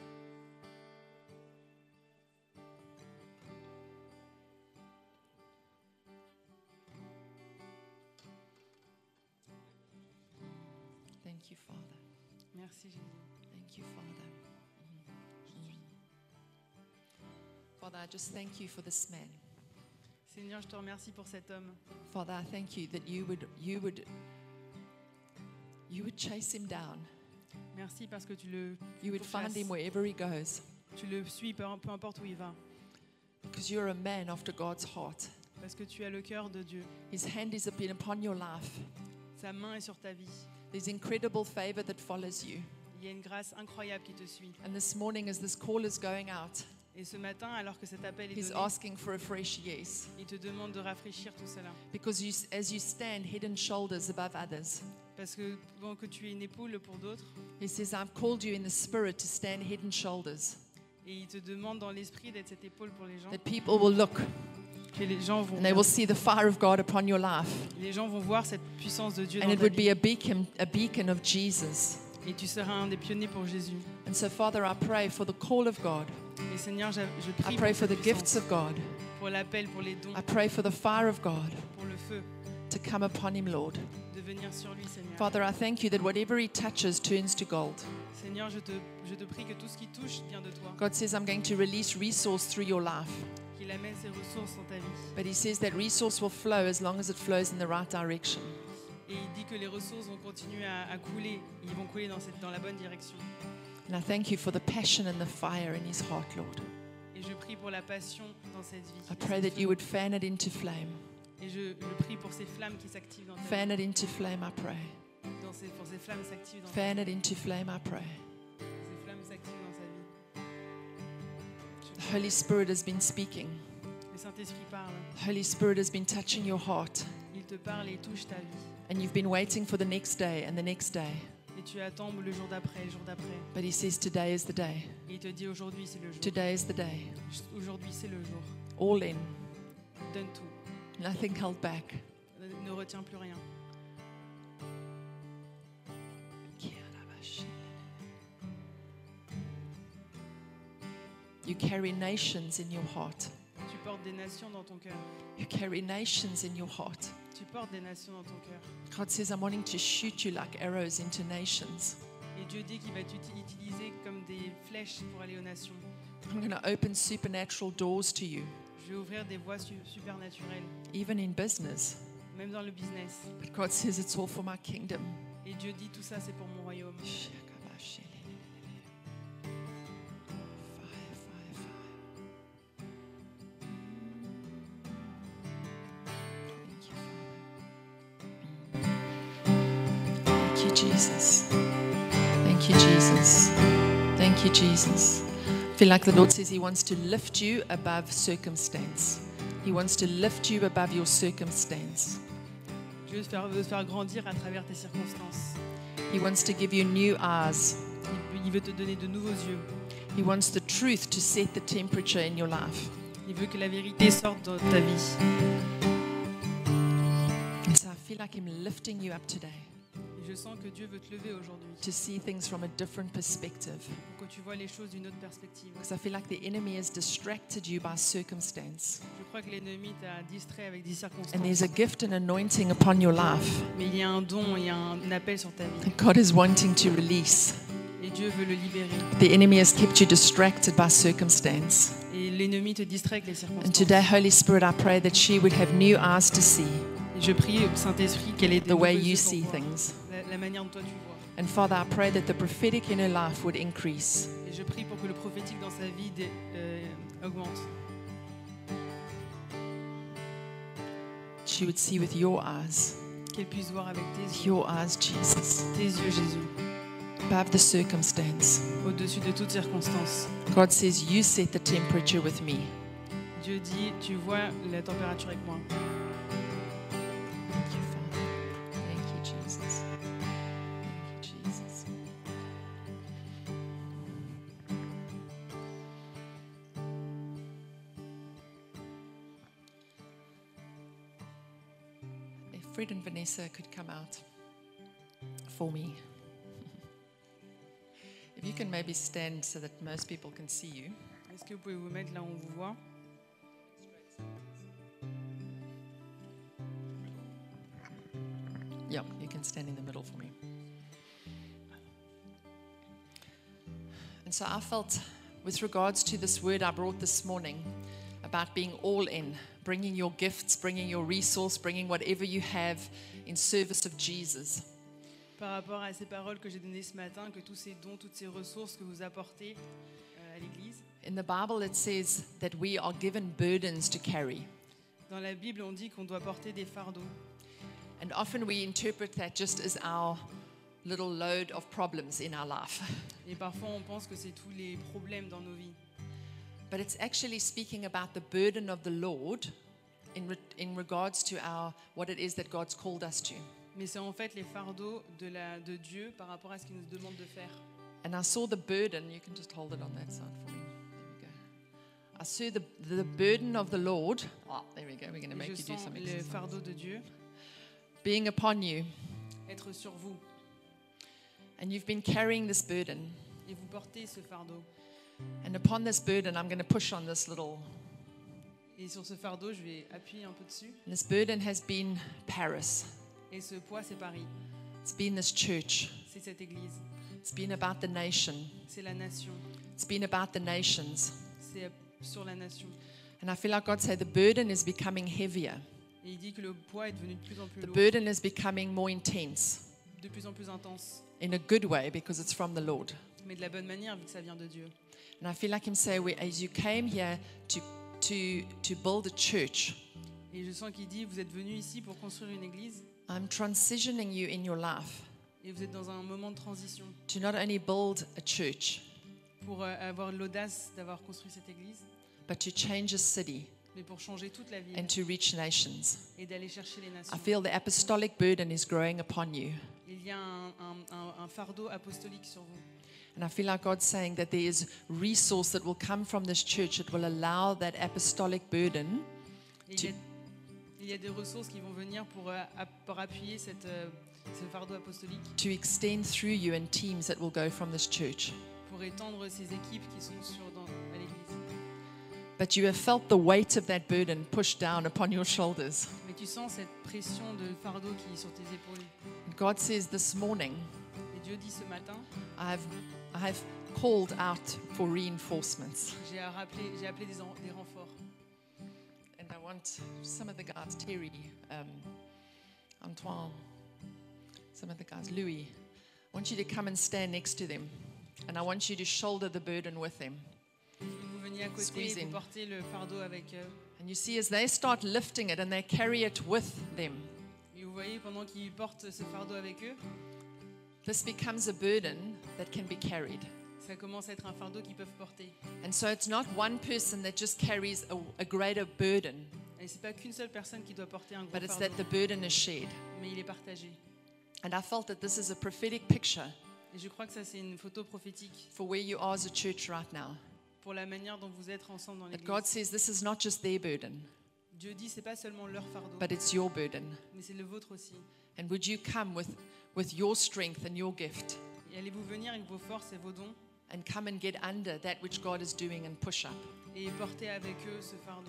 Thank you, Father. Merci Jésus. Thank you, Father. Mhm. Father, I just thank you for this man. Seigneur, je te remercie pour cet homme. Father, I thank you that you would you would you would chase him down. Merci parce que tu le, You would find pourchasses. him wherever he goes. Tu le suis peu, peu importe où il va. Because you're a man after God's heart. Parce que tu as le cœur de Dieu. His hand is been upon your life. Sa main est sur ta vie. There's incredible favor that follows you. Il y a une grâce incroyable qui te suit. And this morning, as this call is going out, Et ce matin, alors que cet appel est he's donné, asking for a fresh yes. il te demande de rafraîchir tout cela. Because you, as you stand head and shoulders above others, Parce que bon, que tu es une épaule pour d'autres, he says, I've called you in the spirit to stand head and shoulders, et il te demande dans l'esprit d'être cette épaule pour les gens, that people will look que les gens vont, and they will see the fire of God upon your life. les gens vont voir cette puissance de Dieu And dans it ta would vie. be a beacon, a beacon of Jesus. Et tu seras un des pionniers pour Jésus. And so, Father, I pray for the call of God. Et Seigneur, je, je I prie pray pour, for ta the puissance, gifts of God. pour l'appel, pour les dons, I pray for the fire of God pour le feu, to come upon him, Lord. de venir sur lui, Seigneur. Father, I thank you that whatever he touches turns to gold. Seigneur, je te, je te prie que tout ce qui touche vient de toi, God says, I'm going to release resource through your life. qu'il amène ses ressources dans ta vie. But he says that resource will flow as long as it flows in the right direction. Et il dit que les ressources vont continuer à, à couler, ils vont couler dans, cette, dans la bonne direction. And I thank you for the passion and the fire in his heart, Lord. Et je prie pour la passion dans cette vie. I pray that you would fan it into flame. Et je, je prie pour ces flammes qui s'activent dans ta Fan it into flame, I pray. vie. Dans ces, pour ces flammes s'activent dans ta Fan it into flame, I pray. vie. Ces flammes s'activent dans sa vie. The Holy Spirit has been speaking. Le Saint-Esprit parle. The Holy Spirit has been touching your heart. Il te parle et il touche ta vie. And you've been waiting for the next day and the next day. Et tu attends le jour d'après, le jour d'après. But he says today is the day. Et il te dit aujourd'hui c'est le jour. Today is the day. Aujourd'hui c'est le jour. All in. Donne tout. Nothing held back. Ne, ne retiens plus rien. You carry nations in your heart. Tu portes des nations dans ton cœur. You carry nations in your heart. Tu portes des nations dans ton cœur. God says, I'm wanting to shoot you like arrows into nations. Et Dieu dit qu'il va t'utiliser comme des flèches pour aller aux nations. I'm going to open supernatural doors to you, Je vais ouvrir des voies su- supernaturelles, even in business. même dans le business. But God says it's all for my kingdom. Et Dieu dit tout ça c'est pour mon royaume. Fire, fire, fire. Thank you, Father. Thank you, Jesus. Thank you, Jesus. Thank you, Jesus. I feel like the Lord says He wants to lift you above circumstance. He wants to lift you above your circumstance. Dieu veut te faire, veut te faire grandir à travers tes circonstances. He wants to give you new eyes. Il, il veut te donner de nouveaux yeux. He wants the truth to set the temperature in your life. Il veut que la vérité sorte de ta vie. And so I feel like Him lifting you up today Et je sens que Dieu veut te lever aujourd'hui to see things from a different perspective. pour que tu vois les choses d'une autre perspective. Because I feel like the enemy has distracted you by circumstance. Je crois que l'ennemi t'a distrait avec des And there's circonstances. a gift and anointing upon your life Mais il y a un don, il y a un appel sur ta vie. that God is wanting to release. Et Dieu veut le libérer. The enemy has kept you distracted by circumstance. Et l'ennemi te distrait avec les And circonstances. today, Holy Spirit, I pray that she would have new eyes to see Et je prie au Saint-Esprit qu'elle ait des the way nouveaux you yeux pour see voir. things. La, la manière dont toi tu vois. And Father, I pray that the prophetic in her life would increase. Et je prie pour que le prophétique dans sa vie dé- euh, augmente. She would see with your eyes, Qu'elle puisse voir avec tes yeux, your eyes, Jesus, tes yeux Jésus, above the circumstance. au-dessus de toutes circonstances. God says, you set the temperature with me. Dieu dit, tu vois la température avec moi. Thank you, Father. Thank you, Jesus. Thank you, Jesus. If Fred and Vanessa could come out for me. If you can maybe stand so that most people can see you. Est-ce que vous pouvez vous mettre là où on vous voit? Yeah, you can stand in the middle for me. And so I felt, with regards to this word I brought this morning, about being all in, bringing your gifts, bringing your resource, bringing whatever you have in service of Jesus. Par rapport à ces paroles que j'ai données ce matin, que tous ces dons, toutes ces ressources que vous apportez euh, à l'Église, In the Bible, it says that we are given burdens to carry. dans la Bible, on dit qu'on doit porter des fardeaux. And often we interpret that just as our little load of problems in our life. Et parfois, on pense que c'est tous les problèmes dans nos vies. But it's actually speaking about the burden of the Lord in, re- in regards to our what it is that God's called us to. Mais c'est en fait les fardeaux de, la, de Dieu par rapport à ce qu'il nous demande de faire. And I saw the burden. You can just hold it on that side for me. There we go. I saw the, the burden of the Lord. Oh, there we go. We're going to Et make je you do sens some le exercise. fardeau de Dieu Being upon you. être sur vous. And you've been carrying this burden. Et vous portez ce fardeau. And upon this burden, I'm going to push on this little. Et sur ce fardeau, je vais appuyer un peu dessus. This burden has been Paris. Et ce poids, c'est Paris. It's been this church. C'est cette église. It's been about the nation. C'est la nation. It's been about the nations. C'est sur la nation. And I feel like God said the burden is becoming heavier. Et il dit que le poids est devenu de plus en plus The lourd, burden is becoming more intense de plus en plus intense. in a good way because it's from the Lord. Mais de la bonne manière, vu que ça vient de Dieu. And I feel like Him say, "We- as you came here to, to, to build a church, Et je sens qu'il dit, vous êtes venus ici pour construire une église. I'm transitioning you in your life Et vous êtes dans un moment de transition to not only build a church, pour euh, avoir l'audace d'avoir construit cette église, but to change a city mais pour changer toute la ville and to reach nations. et d'aller chercher les I nations. feel the apostolic burden is growing upon you. Il y a un, un- un- un fardeau apostolique sur vous. And I feel like God's saying that there is resource that will come from this church that will allow that apostolic burden Et il, y a, il y a des ressources qui vont venir pour, euh, app- pour appuyer cette, euh, ce fardeau apostolique, to extend through you and teams that will go from this church. pour étendre ces équipes qui sont sur, dans, à l'église. But you have felt the weight of that burden pushed down upon your shoulders. Mais tu sens cette pression de fardeau qui est sur tes épaules. And God says this morning, Et Dieu dit ce matin, I've, I've called out for reinforcements. j'ai rappelé, j'ai appelé des, en- des renforts. And I want some of the guys, Terry, um, Antoine, some of the guys, Louis, I want you to come and stand next to them. And I want you to shoulder the burden with them. Vous veniez à côté Squeeze et in. vous portez le fardeau avec eux. And you see, as they start lifting it and they carry it with them, Et vous voyez, pendant qu'ils portent ce fardeau avec eux, this becomes a burden that can be carried. ça commence à être un fardeau qu'ils peuvent porter. And so it's not one person that just carries a, a greater burden, Et c'est pas qu'une seule personne qui doit porter un gros but it's fardeau, that the burden is shared. mais il est partagé. And I felt that this is a prophetic picture Et je crois que ça, c'est une photo prophétique for where you are as a church right now. pour la manière dont vous êtes ensemble dans That l'église. God says this is not just their burden, Dieu dit, c'est pas seulement leur fardeau, but it's your burden. mais c'est le vôtre aussi. And would you come with, with your strength and your gift Et allez-vous venir avec vos forces et vos dons and come and get under that which God is doing and push up? et porter avec eux ce fardeau.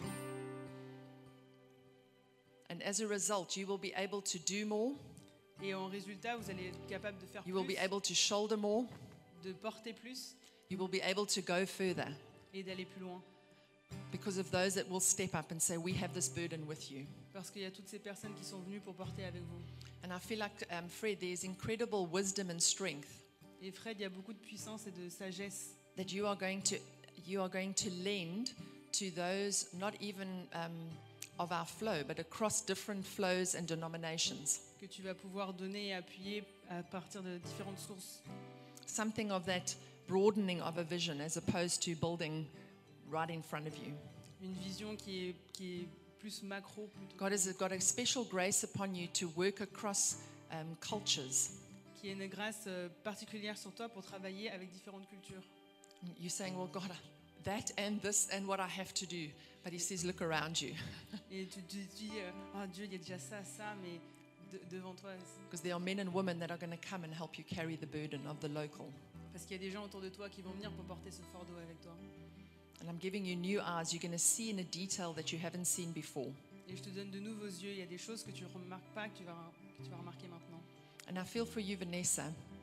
And as a result, you will be able to do more, Et en résultat, vous allez être capable de faire you will be plus, able to shoulder more, de porter plus you will be able to go further et d'aller plus loin. because of those that will step up and say, we have this burden with you. Parce qu'il y a toutes ces personnes qui sont venues pour porter avec vous. And I feel like, um, Fred, there's incredible wisdom and strength Et Fred, il y a beaucoup de puissance et de sagesse that you are going to, you are going to lend to those not even um, of our flow, but across different flows and denominations. que tu vas pouvoir donner et appuyer à partir de différentes sources. Something of that broadening of a vision as opposed to building right in front of you. Une vision qui est, qui est plus macro. Plutôt, God has got a special grace upon you to work across um, cultures. qui est une grâce euh, particulière sur toi pour travailler avec différentes cultures. You're saying, well, God, that and this and what I have to do. But He says, look around you. Et tu te dis, euh, oh Dieu, il y a déjà ça, ça, mais de- devant toi. Because there are men and women that are going to come and help you carry the burden of the local. Parce qu'il y a des gens autour de toi qui vont venir pour porter ce fardeau avec toi. And I'm giving you new eyes. You're going to see in a detail that you haven't seen before. Et je te donne de nouveaux yeux. Il y a des choses que tu ne remarques pas, que tu, vas, que tu vas remarquer maintenant. And I feel for you, Vanessa,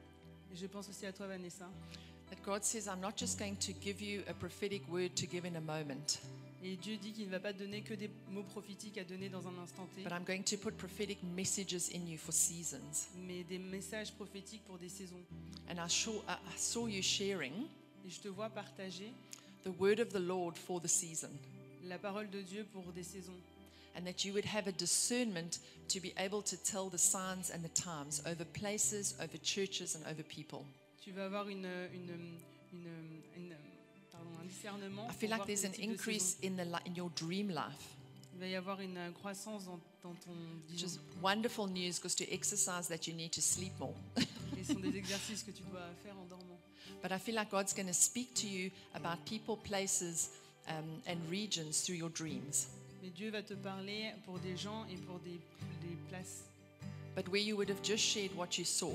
Et je pense aussi à toi, Vanessa. that God says, I'm not just going to give you a prophetic word to give in a moment, Et Dieu dit qu'il ne va pas te donner que des mots prophétiques à donner dans un instant T, but I'm going to put prophetic messages in you for seasons. mais des messages prophétiques pour des saisons. And I saw, I I saw you sharing Et je te vois partager the word of the Lord for the season, la parole de Dieu pour des saisons. and that you would have a discernment to be able to tell the signs and the times over places, over churches, and over people. Tu vas avoir une, une, une, une- pardon, un discernement. I pour feel like voir there's les an types de increase saisons. in, the, li- in your dream life, Il va y avoir une croissance dans, dans ton which vision. is wonderful news because to exercise that you need to sleep more. Et ce sont des exercices que tu dois faire en dormant. But I feel like God's going to speak to you about people, places, um, and regions through your dreams. Mais Dieu va te parler pour des gens et pour des, des places. But where you would have just shared what you saw,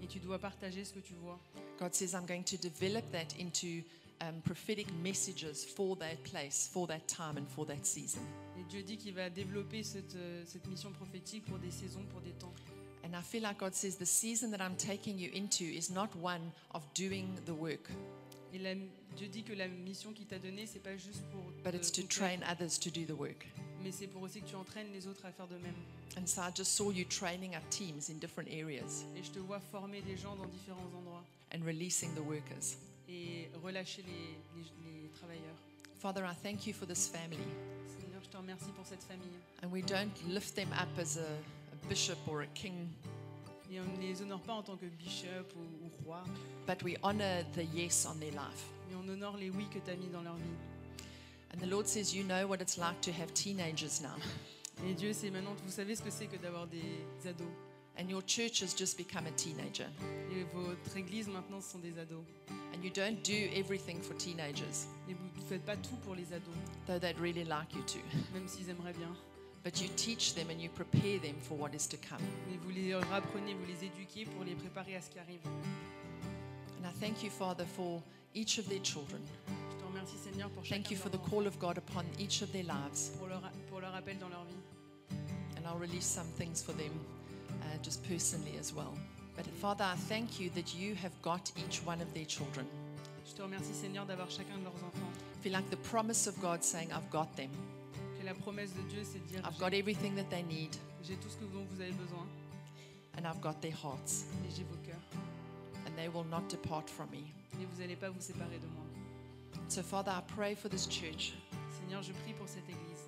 Et tu dois partager ce que tu vois. God says, I'm going to develop that into um, prophetic messages for that place, for that time, and for that season. Et Dieu dit qu'il va développer cette, euh, cette mission prophétique pour des saisons, pour des temps. And I feel like God says, the season that I'm taking you into is not one of doing the work, Et la- Dieu dit que la mission qu'il t'a donnée, c'est pas juste pour but te it's to boucler, train others to do the work. mais c'est pour aussi que tu entraînes les autres à faire de même. And so I just saw you training up teams in different areas Et je te vois former des gens dans différents endroits and releasing the workers. et relâcher les, les- les travailleurs. Father, I thank you for this family. Seigneur, je te remercie pour cette famille. And we don't lift them up as a, a bishop or a king, Et on ne les honore pas en tant que bishop ou, ou roi, but we honor the yes on their life. mais on honore les oui que tu as mis dans leur vie. And the Lord says, you know what it's like to have teenagers now. Et Dieu, c'est maintenant, vous savez ce que c'est que d'avoir des ados. And your church has just become a teenager. Et votre église maintenant, ce sont des ados. And you don't do everything for teenagers, Et vous ne faites pas tout pour les ados, though they'd really like you to. même s'ils aimeraient bien. But you teach them and you prepare them for what is to come. Mais vous les apprenez, vous les éduquez pour les préparer à ce qui arrive. And I thank you, Father, for each of their children. Je te remercie, Seigneur, pour Thank chacun you de for leurs the enfants, call of God upon each of their lives. pour leur, pour leur appel dans leur vie. And I'll release some things for them uh, just personally as well. But Father, I thank you that you have got each one of their children. Je te remercie, Seigneur, d'avoir chacun de leurs enfants. I feel like the promise of God saying, I've got them. Que la promesse de Dieu, c'est de dire I've got j'ai, everything that they need, j'ai tout ce que dont vous avez besoin and I've got their hearts, et j'ai vos cœurs. and they will not depart from me. Et vous n'allez pas vous séparer de moi. So, Father, I pray for this church. Seigneur, je prie pour cette église.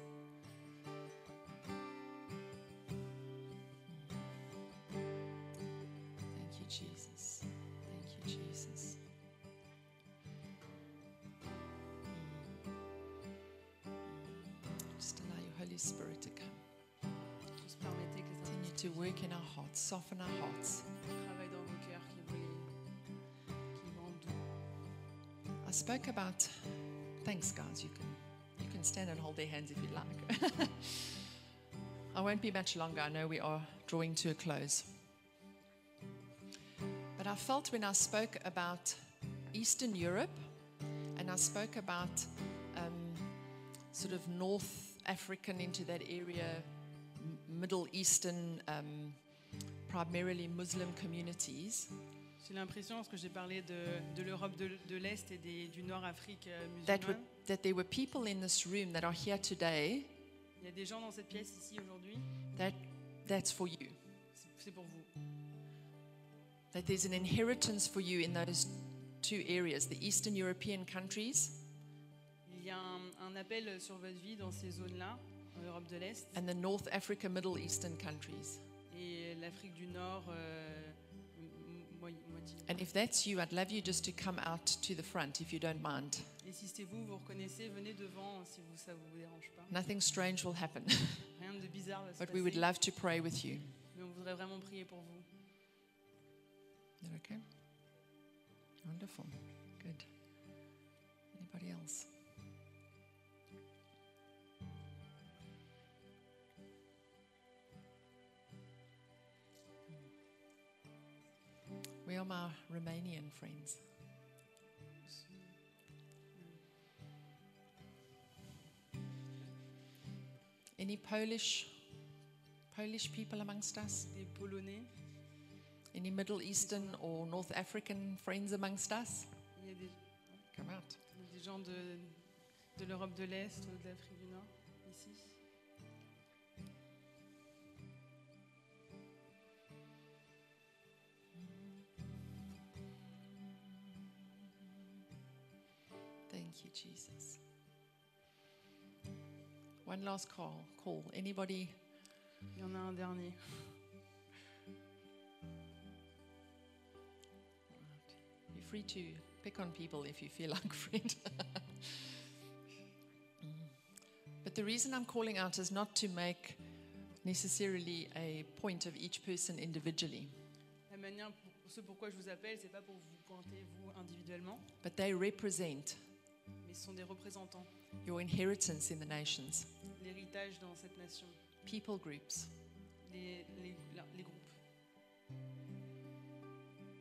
Thank you, Jesus. Thank you, Jesus. Just allow your Holy Spirit to come. Juste permettez que les Continue to work in our hearts, soften our hearts. travaillent dans vos cœurs, qui vous les, qui vous rendent doux. I spoke about, thanks guys, you can, you can stand and hold their hands if you like. I won't be much longer, I know we are drawing to a close. But I felt when I spoke about Eastern Europe, and I spoke about um, sort of North African into that area, M- Middle Eastern, um, primarily Muslim communities, J'ai l'impression, parce que j'ai parlé de, de l'Europe de, de l'Est et des- du Nord-Afrique euh, that, were, musulmane, that there were people in this room that are here today. il y a des gens dans cette pièce ici aujourd'hui, That that's for you. c'est- c'est pour vous. That there's an inheritance for you in those two areas, the Eastern European countries Il y a un, un appel sur votre vie dans ces zones-là, en Europe de l'Est and the North Africa, Middle Eastern countries. et l'Afrique du Nord, euh, m- m- moi- moitié. And if that's you, I'd love you just to come out to the front if you don't mind. Et si c'est vous, vous reconnaissez, venez devant si vous, ça ne vous dérange pas. Nothing strange will happen, Rien de bizarre va se but we would passer, love to pray with you. mais on voudrait vraiment prier pour vous. Is that okay? Wonderful. Good. Anybody else? Where are my Romanian friends? Any Polish Polish people amongst us? Des Polonais, Any Middle Eastern or North African friends amongst us? il y a des, Come out. il y a des gens de, de l'Europe de l'Est ou de l'Afrique du Nord, ici. Thank you, Jesus. One last call. Call. Anybody? Il y en a un dernier. You're free to pick on people if you feel like, friend. Mm. But the reason I'm calling out is not to make necessarily a point of each person individually, La manière, pour, ce pourquoi je vous appelle, c'est pas pour vous pointer vous individuellement, but they represent mais ce sont des représentants, your inheritance in the nations, l'héritage dans cette nation, people groups. les, les, la- les groupes.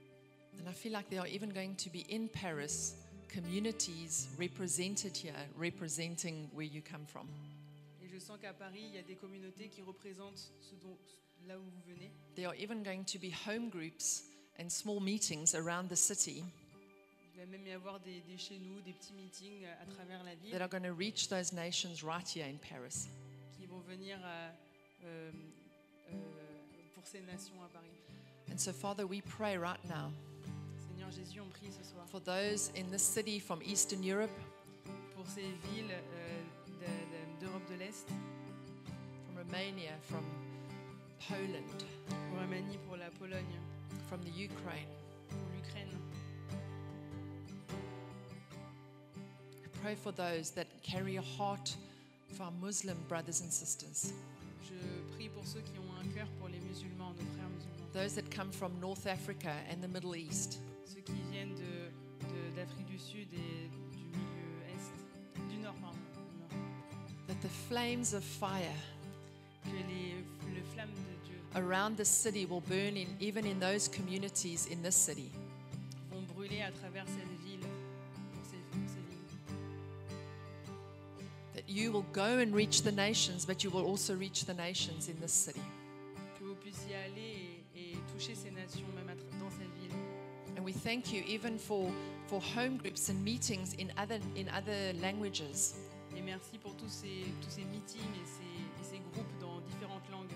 And I feel like there are even going to be in Paris communities represented here, representing where you come from. Et je sens qu'à Paris, il y a des communautés qui représentent ce dont, là où vous venez. There are even going to be home groups and small meetings around the city Il va même y avoir des, des chez nous, des petits meetings à travers la ville that are going to reach those nations right here in Paris. qui vont venir à, euh, euh, pour ces nations à Paris. And so, Father, we pray right now Seigneur Jésus, on prie ce soir for those in this city from Eastern Europe, pour ces villes euh, de- de- d'Europe de l'Est, from Romania, from Poland, pour Roumanie, pour la Pologne, from the Ukraine. pour l'Ukraine. We pray for those that carry a heart for our Muslim brothers and sisters, Je prie pour ceux qui ont un cœur pour les musulmans, nos frères musulmans, those that come from North Africa and the Middle East, ceux qui viennent de, de- d'Afrique du Sud et du milieu Est, du Nord, pardon, du Nord. that the flames of fire Que les, les flammes de Dieu around the city will burn in, even in those communities in this city. vont brûler à travers cette ville, pour ces, pour ces villes. That you will go and reach the nations, but you will also reach the nations in this city. Que vous puissiez aller et, et toucher ces nations, même à tra- dans cette ville. And we thank you even for, for home groups and meetings in other, in other languages. Et merci pour tous ces, tous ces meetings et ces, et ces groupes dans différentes langues.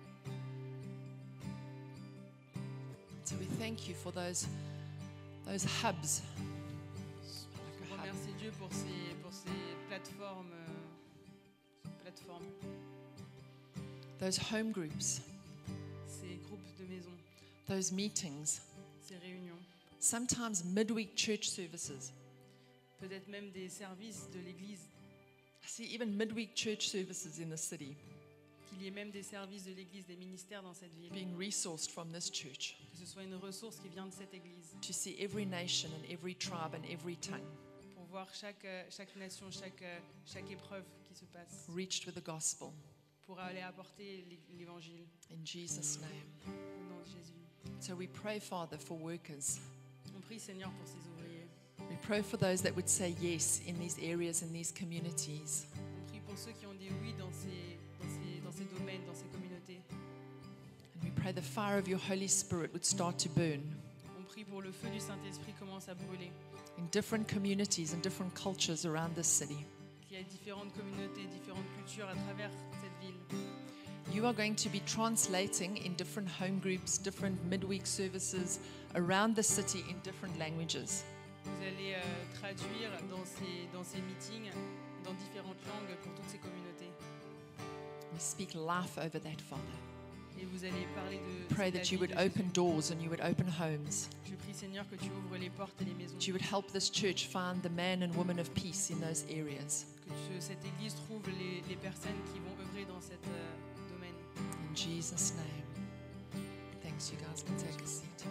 So we thank you for those, those hubs. Je remercie Dieu pour ces, pour ces plateformes, euh, plateformes, Those home groups, ces groupes de maison, those meetings, ces réunions. sometimes midweek church services. Peut-être même des services de l'Église, I see even midweek church services in the city qu'il y ait même des services de l'Église, des ministères dans cette ville. being resourced from this church Que ce soit une ressource qui vient de cette Église to see every nation and every tribe and every tongue pour voir chaque, euh, chaque nation, chaque, euh, chaque épreuve qui se passe, reached with the gospel. pour aller apporter l'É- l'Évangile In Jesus' name. au nom de Jésus. So we pray, Father, for workers. On prie Seigneur pour ces ouvriers. We pray for those that would say yes in these areas, in these communities. On prie pour ceux qui ont dit oui dans ces, dans ces, dans ces domaines, dans ces communautés. And we pray the fire of your Holy Spirit would start to burn On prie pour le feu du Saint-Esprit commence à brûler. in different communities and different cultures around this city. Qu'il y ait différentes communautés, différentes cultures à travers cette ville. You are going to be translating in different home groups, different midweek services around the city in different languages. Vous allez euh, traduire dans ces, dans ces meetings dans différentes langues pour toutes ces communautés. We speak life over that, Father. Et vous allez parler de Pray de la that you vie would de Jésus. open doors and you would open homes. Je prie Seigneur que tu ouvres les portes et les maisons. That you would help this church find the man and woman of peace in those areas. Que tu- cette Église trouve les, les personnes qui vont œuvrer dans cet euh, domaine. In Jesus' name. Thanks, you guys can take a seat.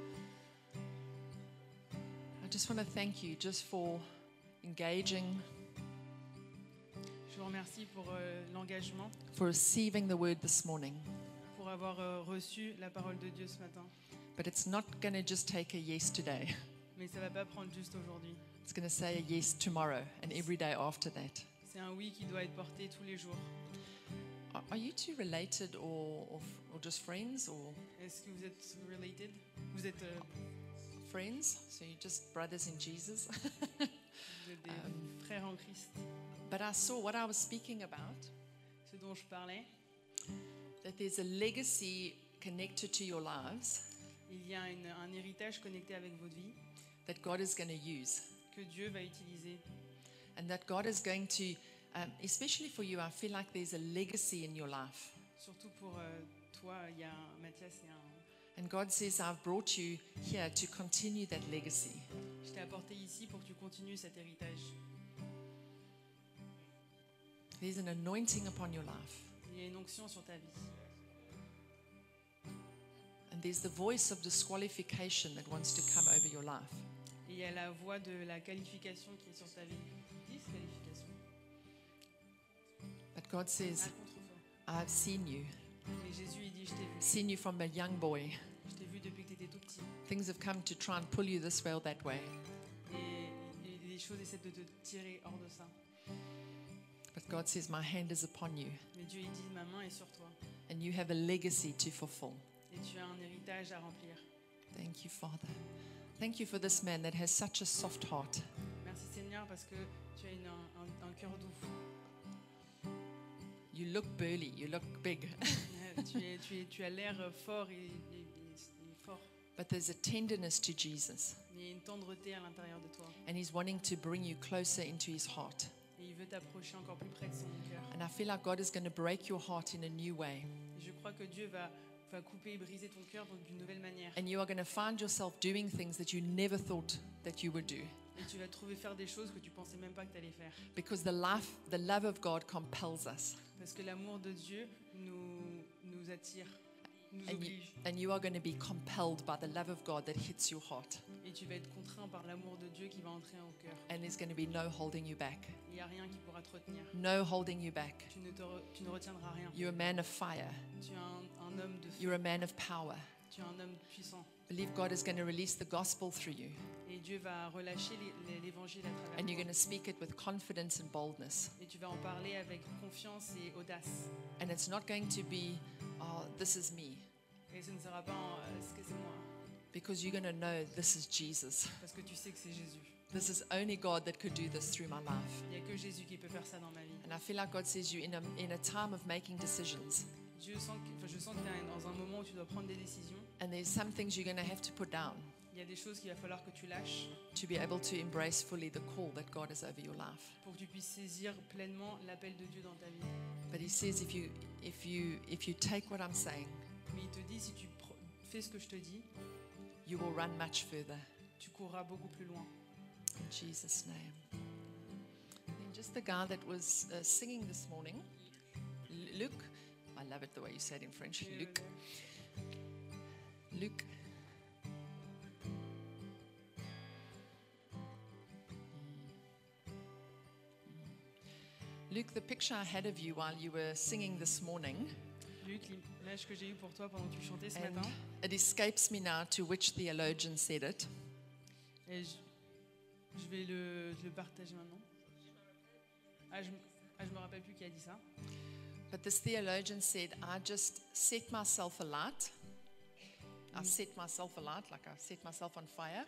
I just want to thank you just for engaging, Je vous remercie pour euh, l'engagement, for receiving the word this morning. pour avoir euh, reçu la parole de Dieu ce matin. But it's not going to just take a yes today. Mais ça ne va pas prendre juste aujourd'hui. It's going to say a yes tomorrow and every day after that. C'est un oui qui doit être porté tous les jours. Are, are you two related or, or, or just friends or Est-ce que vous êtes related? Vous êtes, euh, friends? So you're just brothers in Jesus? vous êtes des frères en Christ. But I saw what I was speaking about, Ce dont je parlais, that there's a legacy connected to your lives il y a une- un héritage connecté avec votre vie that God is going to use. que Dieu va utiliser. And that God is going to, um, especially for you, I feel like there's a legacy in your life. Surtout pour euh, toi, il y a un, Mathias, il y a un, And God says, I've brought you here to continue that legacy. je t'ai apporté ici pour que tu continues cet héritage. There's an anointing upon your life. Il y a une onction sur ta vie. And there's the voice of disqualification that wants to come over your life. Et il y a la voix de la qualification qui est sur ta vie. Disqualification. But God À says, contre-soi. I've seen you, Mais Jésus, il dit, je t'ai vu. seen you from a young boy, Je t'ai vu depuis que tu étais tout petit. Things have come to try and pull you this way or that way. Et, et les choses essaient de te tirer hors de ça. But God says, my hand is upon you, Mais Dieu il dit, ma main est sur toi. and you have a legacy to fulfill. Et tu as un héritage à remplir. Thank you, Father. Thank you for this man that has such a soft heart. Merci Seigneur parce que tu as une, un, un, un cœur doux. You look burly, you look big, tu, es, tu, es, tu as l'air fort et, et- et- et fort. but there's a tenderness to Jesus, Mais il y a une tendreté à l'intérieur de toi. and he's wanting to bring you closer into his heart. Et il veut t'approcher encore plus près de son cœur. And I feel like God is going to break your heart in a new way. Et je crois que Dieu va, va couper et briser ton cœur donc d'une nouvelle manière. And you are going to find yourself doing things that you never thought that you would do. Et tu vas trouver faire des choses que tu pensais même pas que tu allais faire. Because the life, the love of God compels us. Parce que l'amour de Dieu nous, nous attire, nous And you, oblige. and you are going to be compelled by the love of God that hits your heart. Et tu vas être contraint par l'amour de Dieu qui va entrer au cœur. And there's going to be no holding you back. Il n'y a rien qui pourra te retenir. No holding you back. Tu ne, te re- tu ne retiendras rien. You're a man of fire. Tu es un, un homme de feu. You're a man of power. Tu es un homme puissant. Believe God is going to release the gospel through you. Et Dieu va relâcher les- les- l'évangile à travers And you're toi. going to speak it with confidence and boldness. Et tu vas en parler avec confiance et audace. And it's not going to be, oh, this is me. Et ce ne sera pas en, euh, ce que c'est moi. Because you're going to know this is Jesus. Parce que tu sais que c'est Jésus. This is only God that could do this through my life. Il n'y a que Jésus qui peut faire ça dans ma vie. And I feel like God says you in a, in a time of making decisions. Dieu sent que, enfin, je sens que tu es dans un moment où tu dois prendre des décisions. And there's some things you're going to have to put down Il y a des choses qu'il va falloir que tu lâches to be able to embrace fully the call that God has over your life. pour que tu puisses saisir pleinement l'appel de Dieu dans ta vie. But he says if you if you if you take what I'm saying, Mais il te dit, si tu pr- fais ce que je te dis, you will run much further. tu courras beaucoup plus loin. In Jesus' name. And just the guy that was uh, singing this morning, L- Luke. I love it the way you say it in French. Luke. Luke. Luke, the picture I had of you while you were singing this morning, Luc, l'image que j'ai eue pour toi pendant que tu chantais ce and matin, it escapes me now to which theologian said it, et je, je vais le, le partager maintenant. Ah je, ah, je me rappelle plus qui a dit ça. but this theologian said, I just set myself alight. I set myself alight, like I set myself on fire.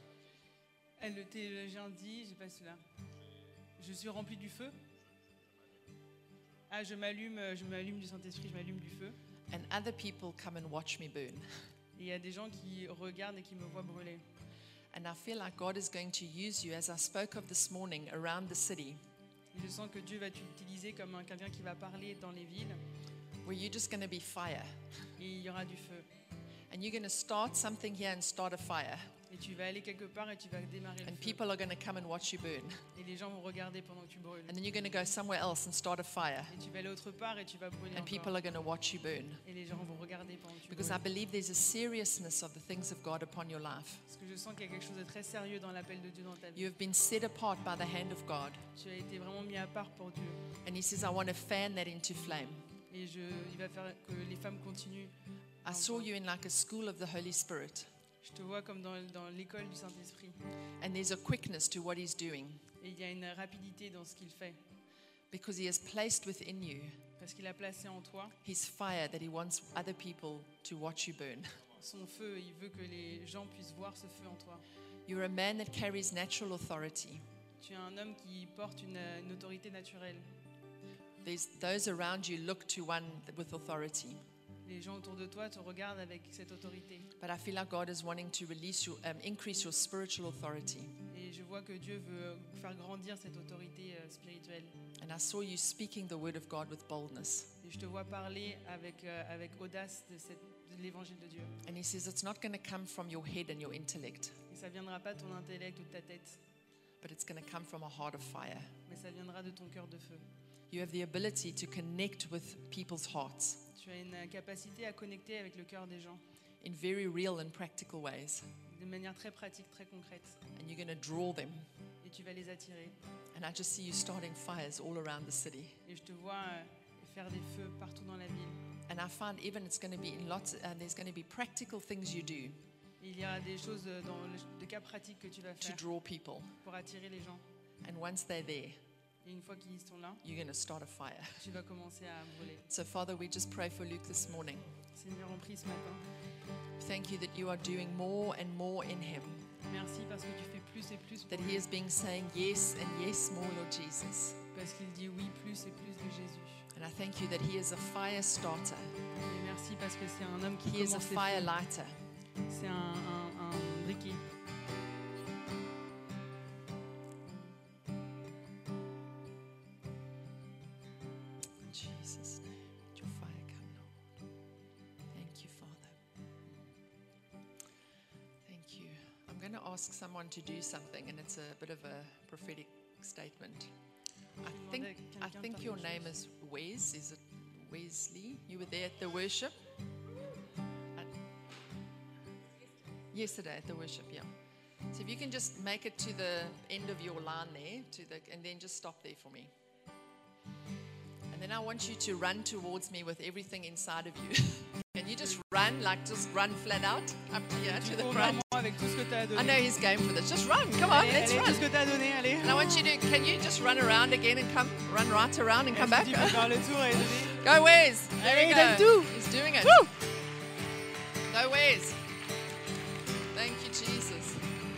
Et le théologien dit, j'ai pas celui-là, je suis rempli du feu. Ah, je m'allume, je m'allume du Saint-Esprit, je m'allume du feu. And other people come and watch me burn. Et il y a des gens qui regardent et qui me voient brûler. And I feel like God is going to use you, as I spoke of this morning, around the city, Et je sens que Dieu va t'utiliser comme un- quelqu'un qui va parler dans les villes where you're just going to be fire. et il y aura du feu. And you're going to start something here and start a fire. Et tu vas aller quelque part et tu vas démarrer le And feu. people are going to come and watch you burn. Et les gens vont regarder pendant que tu brûles. And then you're going to go somewhere else and start a fire. Et tu vas aller autre part et tu vas brûler And people encore. are going to watch you burn. Et les gens vont regarder pendant que tu Because I brûles. believe there's a seriousness of the things of God upon your life. Parce que je sens qu'il y a quelque chose de très sérieux dans l'appel de Dieu dans ta vie. You have been set apart by the hand of God. Tu as été vraiment mis à part pour Dieu. And He says, I want to fan that into flame. Et je, il va faire que les femmes continuent. I saw you in like a school of the Holy Spirit. Je te vois comme dans, dans l'école du Saint-Esprit. And there's a quickness to what He's doing Et il y a une rapidité dans ce qu'il fait. because He has placed within you Parce qu'il a placé en toi His fire that He wants other people to watch you burn. son feu. Et il veut que les gens puissent voir ce feu en toi. You're a man that carries natural authority. Tu es un homme qui porte une, une autorité naturelle. There's those around you look to one with authority. Les gens autour de toi te regardent avec cette autorité. But I feel like God is wanting to release you, um, increase your spiritual authority. Et je vois que Dieu veut faire grandir cette autorité euh, spirituelle. And I saw you speaking the word of God with boldness. Et je te vois parler avec, euh, avec audace de, cette- de l'évangile de Dieu. And He says it's not going to come from your head and your intellect, Et ça viendra pas de ton intellect ou de ta tête, but it's going to come from a heart of fire. mais ça viendra de ton cœur de feu. You have the ability to connect with people's hearts Tu as une capacité à connecter avec le cœur des gens in very real and practical ways. de manière très pratique, très concrète. And you're going to draw them. Et tu vas les attirer. And I just see you starting fires all around the city. Et je te vois euh, faire des feux partout dans la ville. And I find even it's going to be in lots, and there's going to be practical things you do. Il y a des choses dans le, des cas pratiques que tu vas to faire draw people. pour attirer les gens. And once they're there, Et une fois qu'ils sont là, you're going to start a fire. tu vas commencer à brûler. So, Father, we just pray for Luke this morning. Seigneur, on prie ce matin. Thank you that you are doing more and more in him. Merci parce que tu fais plus et plus pour That lui. he is being saying yes and yes more, Lord Jesus. Parce qu'il dit oui plus et plus de Jésus. And I thank you that he is a fire starter. Et merci parce que c'est un homme qui He is a commence les fire feux. lighter. C'est un, un, un briquet. In Jesus' name, let your fire come, Lord. Thank you, Father. Thank you. I'm going to ask someone to do something, and it's a bit of a prophetic statement. I think, I think your name is Wes. Is it Wesley? You were there at the worship? At- yesterday at the worship, yeah. So if you can just make it to the end of your line there, to the, and then just stop there for me. And then I want you to run towards me with everything inside of you. Can you just run, like just run flat out up to here, Tu to the cours vers front? moi avec tout ce que tu as I donné. know he's game for this. Just run. Come on, Allez, let's allez, tout run. ce que tu as donné, allez. And I want you to, can you just run around again and come, run right around and come Est-ce back? que tu peux faire le tour et donner? Go Wes. There Allez, we donne go. tout. He's doing it. Woo! Go Wes. Thank you, Jesus.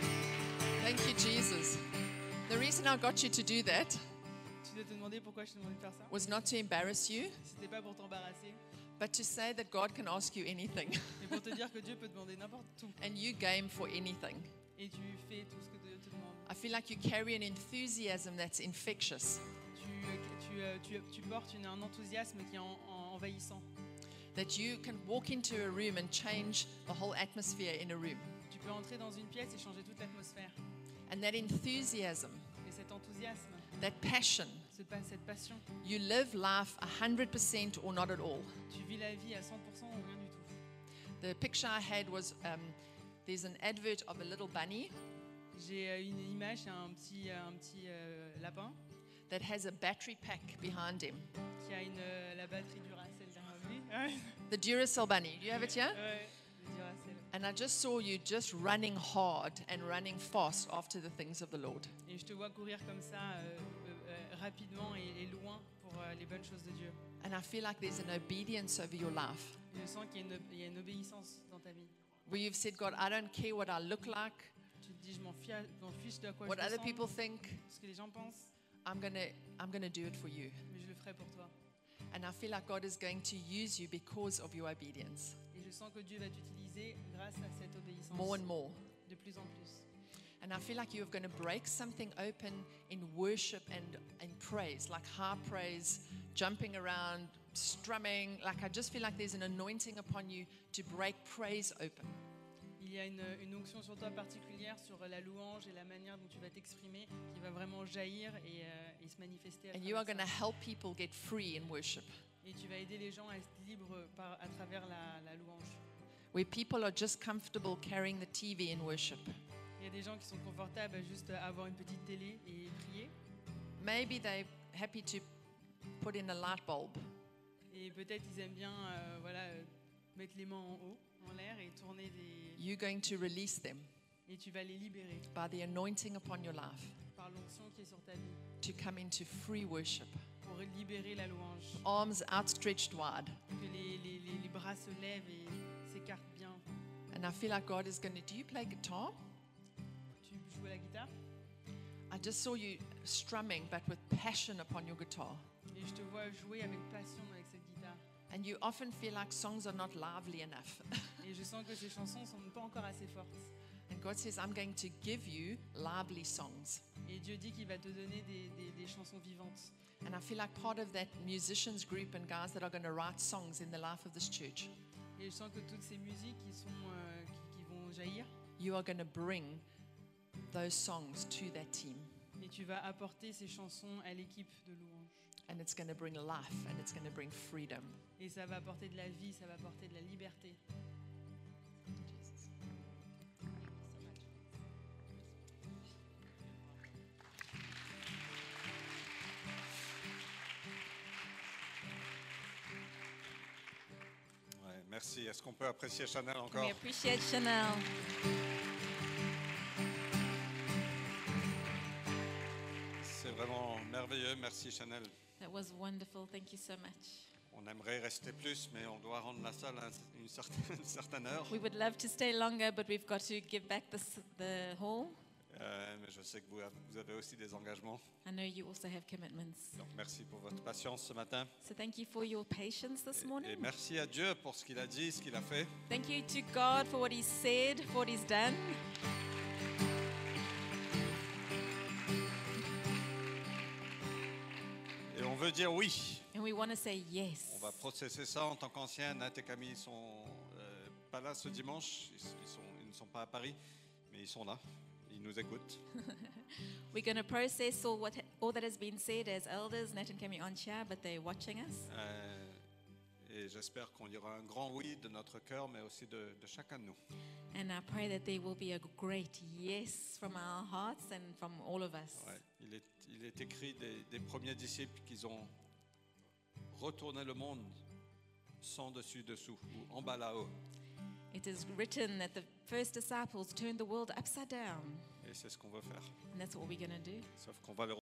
Thank you, Jesus. The reason I got you to do that Tu dois te demander pourquoi je te demandais de faire ça. was not to embarrass you, C'était pas pour t'embarrasser, but to say that God can ask you anything. mais pour te dire que Dieu peut te demander n'importe tout. And you game for anything. Et tu fais tout ce que Dieu te demande. I feel like you carry an enthusiasm that's infectious. Tu, tu, euh, tu, tu portes une- un enthousiasme qui est en- en- envahissant. That you can walk into a room and change the whole atmosphere in a room. Tu peux entrer dans une pièce et changer toute l'atmosphère. And that enthusiasm, Et cet enthousiasme, that passion, ce pa- cette passion, you live life one hundred percent or not at all. tu vis la vie à cent pour cent ou rien du tout. The picture I had was um, there's an advert of a little bunny J'ai euh, une image, c'est un petit, euh, un petit euh, lapin that has a battery pack behind him. qui a une, euh, la batterie Duracell derrière lui. Ouais, The Duracell bunny. Do you have it here? ouais, le Duracell. And I just saw you just running hard and running fast after the things of the Lord. Et je te vois courir comme ça, euh, euh, euh, rapidement et, et loin pour euh, les bonnes choses de Dieu. And I feel like there's an obedience over your life Je sens qu'il y a une, il y a une obéissance dans ta vie. where you've said, God, I don't care what I look like, Tu te dis, je m'en fiche, je m'en fiche de à quoi what je other ressemble, people think. ce que les gens pensent, I'm gonna, I'm gonna do it for you. mais je le ferai pour toi. And I feel like God is going to use you because of your obedience Et je sens que Dieu va t'utiliser grâce à cette obéissance more and more. de plus en plus. And I feel like you're going to break something open in worship and in praise, like high praise, jumping around, strumming. Like I just feel like there's an anointing upon you to break praise open. Il y a une, une onction sur toi particulière sur la louange et la manière dont tu vas t'exprimer qui va vraiment jaillir et, euh, et se manifester à And you are travers going to ça. help people get free in worship, Et tu vas aider les gens à être libres par, à travers la, la louange. where people are just comfortable carrying the T V in worship. Il y a des gens qui sont confortables à juste avoir une petite télé et prier. Maybe they're happy to put in a light bulb. Et peut-être ils aiment bien euh, voilà, euh, mettre les mains en haut, en l'air et tourner des... You're going to release them Et tu vas les libérer by the anointing upon your life par l'onction qui est sur ta vie to come into free worship. pour libérer la louange. Arms outstretched wide. Que les, les, les, les bras se lèvent et s'écartent bien. And I feel like God is going to. Do you play guitar? Tu joues à la guitare I just saw you strumming, but with passion upon your guitar. et je te vois jouer avec passion avec cette guitare. And you often feel like songs are not lively enough. Et je sens que ces chansons sont pas encore assez fortes. And God says, I'm going to give you lively songs. Et Dieu dit qu'il va te donner des, des, des chansons vivantes. And I feel like part of that musicians group and guys that are going to write songs in the life of this church, Et je sens que toutes ces musiques qui, sont, euh, qui, qui vont jaillir, you are going to bring those songs to that team. et tu vas apporter ces chansons à l'équipe de louange. And it's going to bring life and it's going to bring freedom. Et ça va apporter de la vie, ça va apporter de la liberté. Jesus. Ouais, Merci. Est-ce qu'on peut apprécier Chanel Can encore? we appreciate Chanel? C'est vraiment merveilleux. Merci Chanel. That was wonderful. Thank you so much. On aimerait rester plus, mais on doit rendre la salle à une certaine, une certaine heure. We would love to stay longer, but we've got to give back the, s- the hall. Euh, mais je sais que vous avez, vous avez aussi des engagements. I know you also have commitments. Donc merci pour votre patience ce matin. So thank you for your patience this Et, et morning. merci à Dieu pour ce qu'il a dit, ce qu'il a fait. Thank you to God for what He said, for what He's done. Et on veut dire oui. And we want to say On yes. va processer ça en tant qu'anciens. Nat et Camille sont euh, pas là ce dimanche. Ils, ils sont, ils ne sont pas à Paris, mais ils sont là. Ils nous écoutent. We're going to process all, what, all that has been said as elders. Nat and Kemi aren't here, but they're watching us. Euh, et j'espère qu'il y aura un grand oui de notre cœur, mais aussi de, de chacun de nous. And I pray that there will be a great yes from our hearts and from all of us. Ouais. Il, est, il est écrit des, des premiers disciples qu'ils ont retourné le monde sans dessus-dessous ou en bas là-haut. It is written that the first disciples turned the world upside down. Et c'est ce qu'on veut faire. And that's what we're going to do. Sauf qu'on va le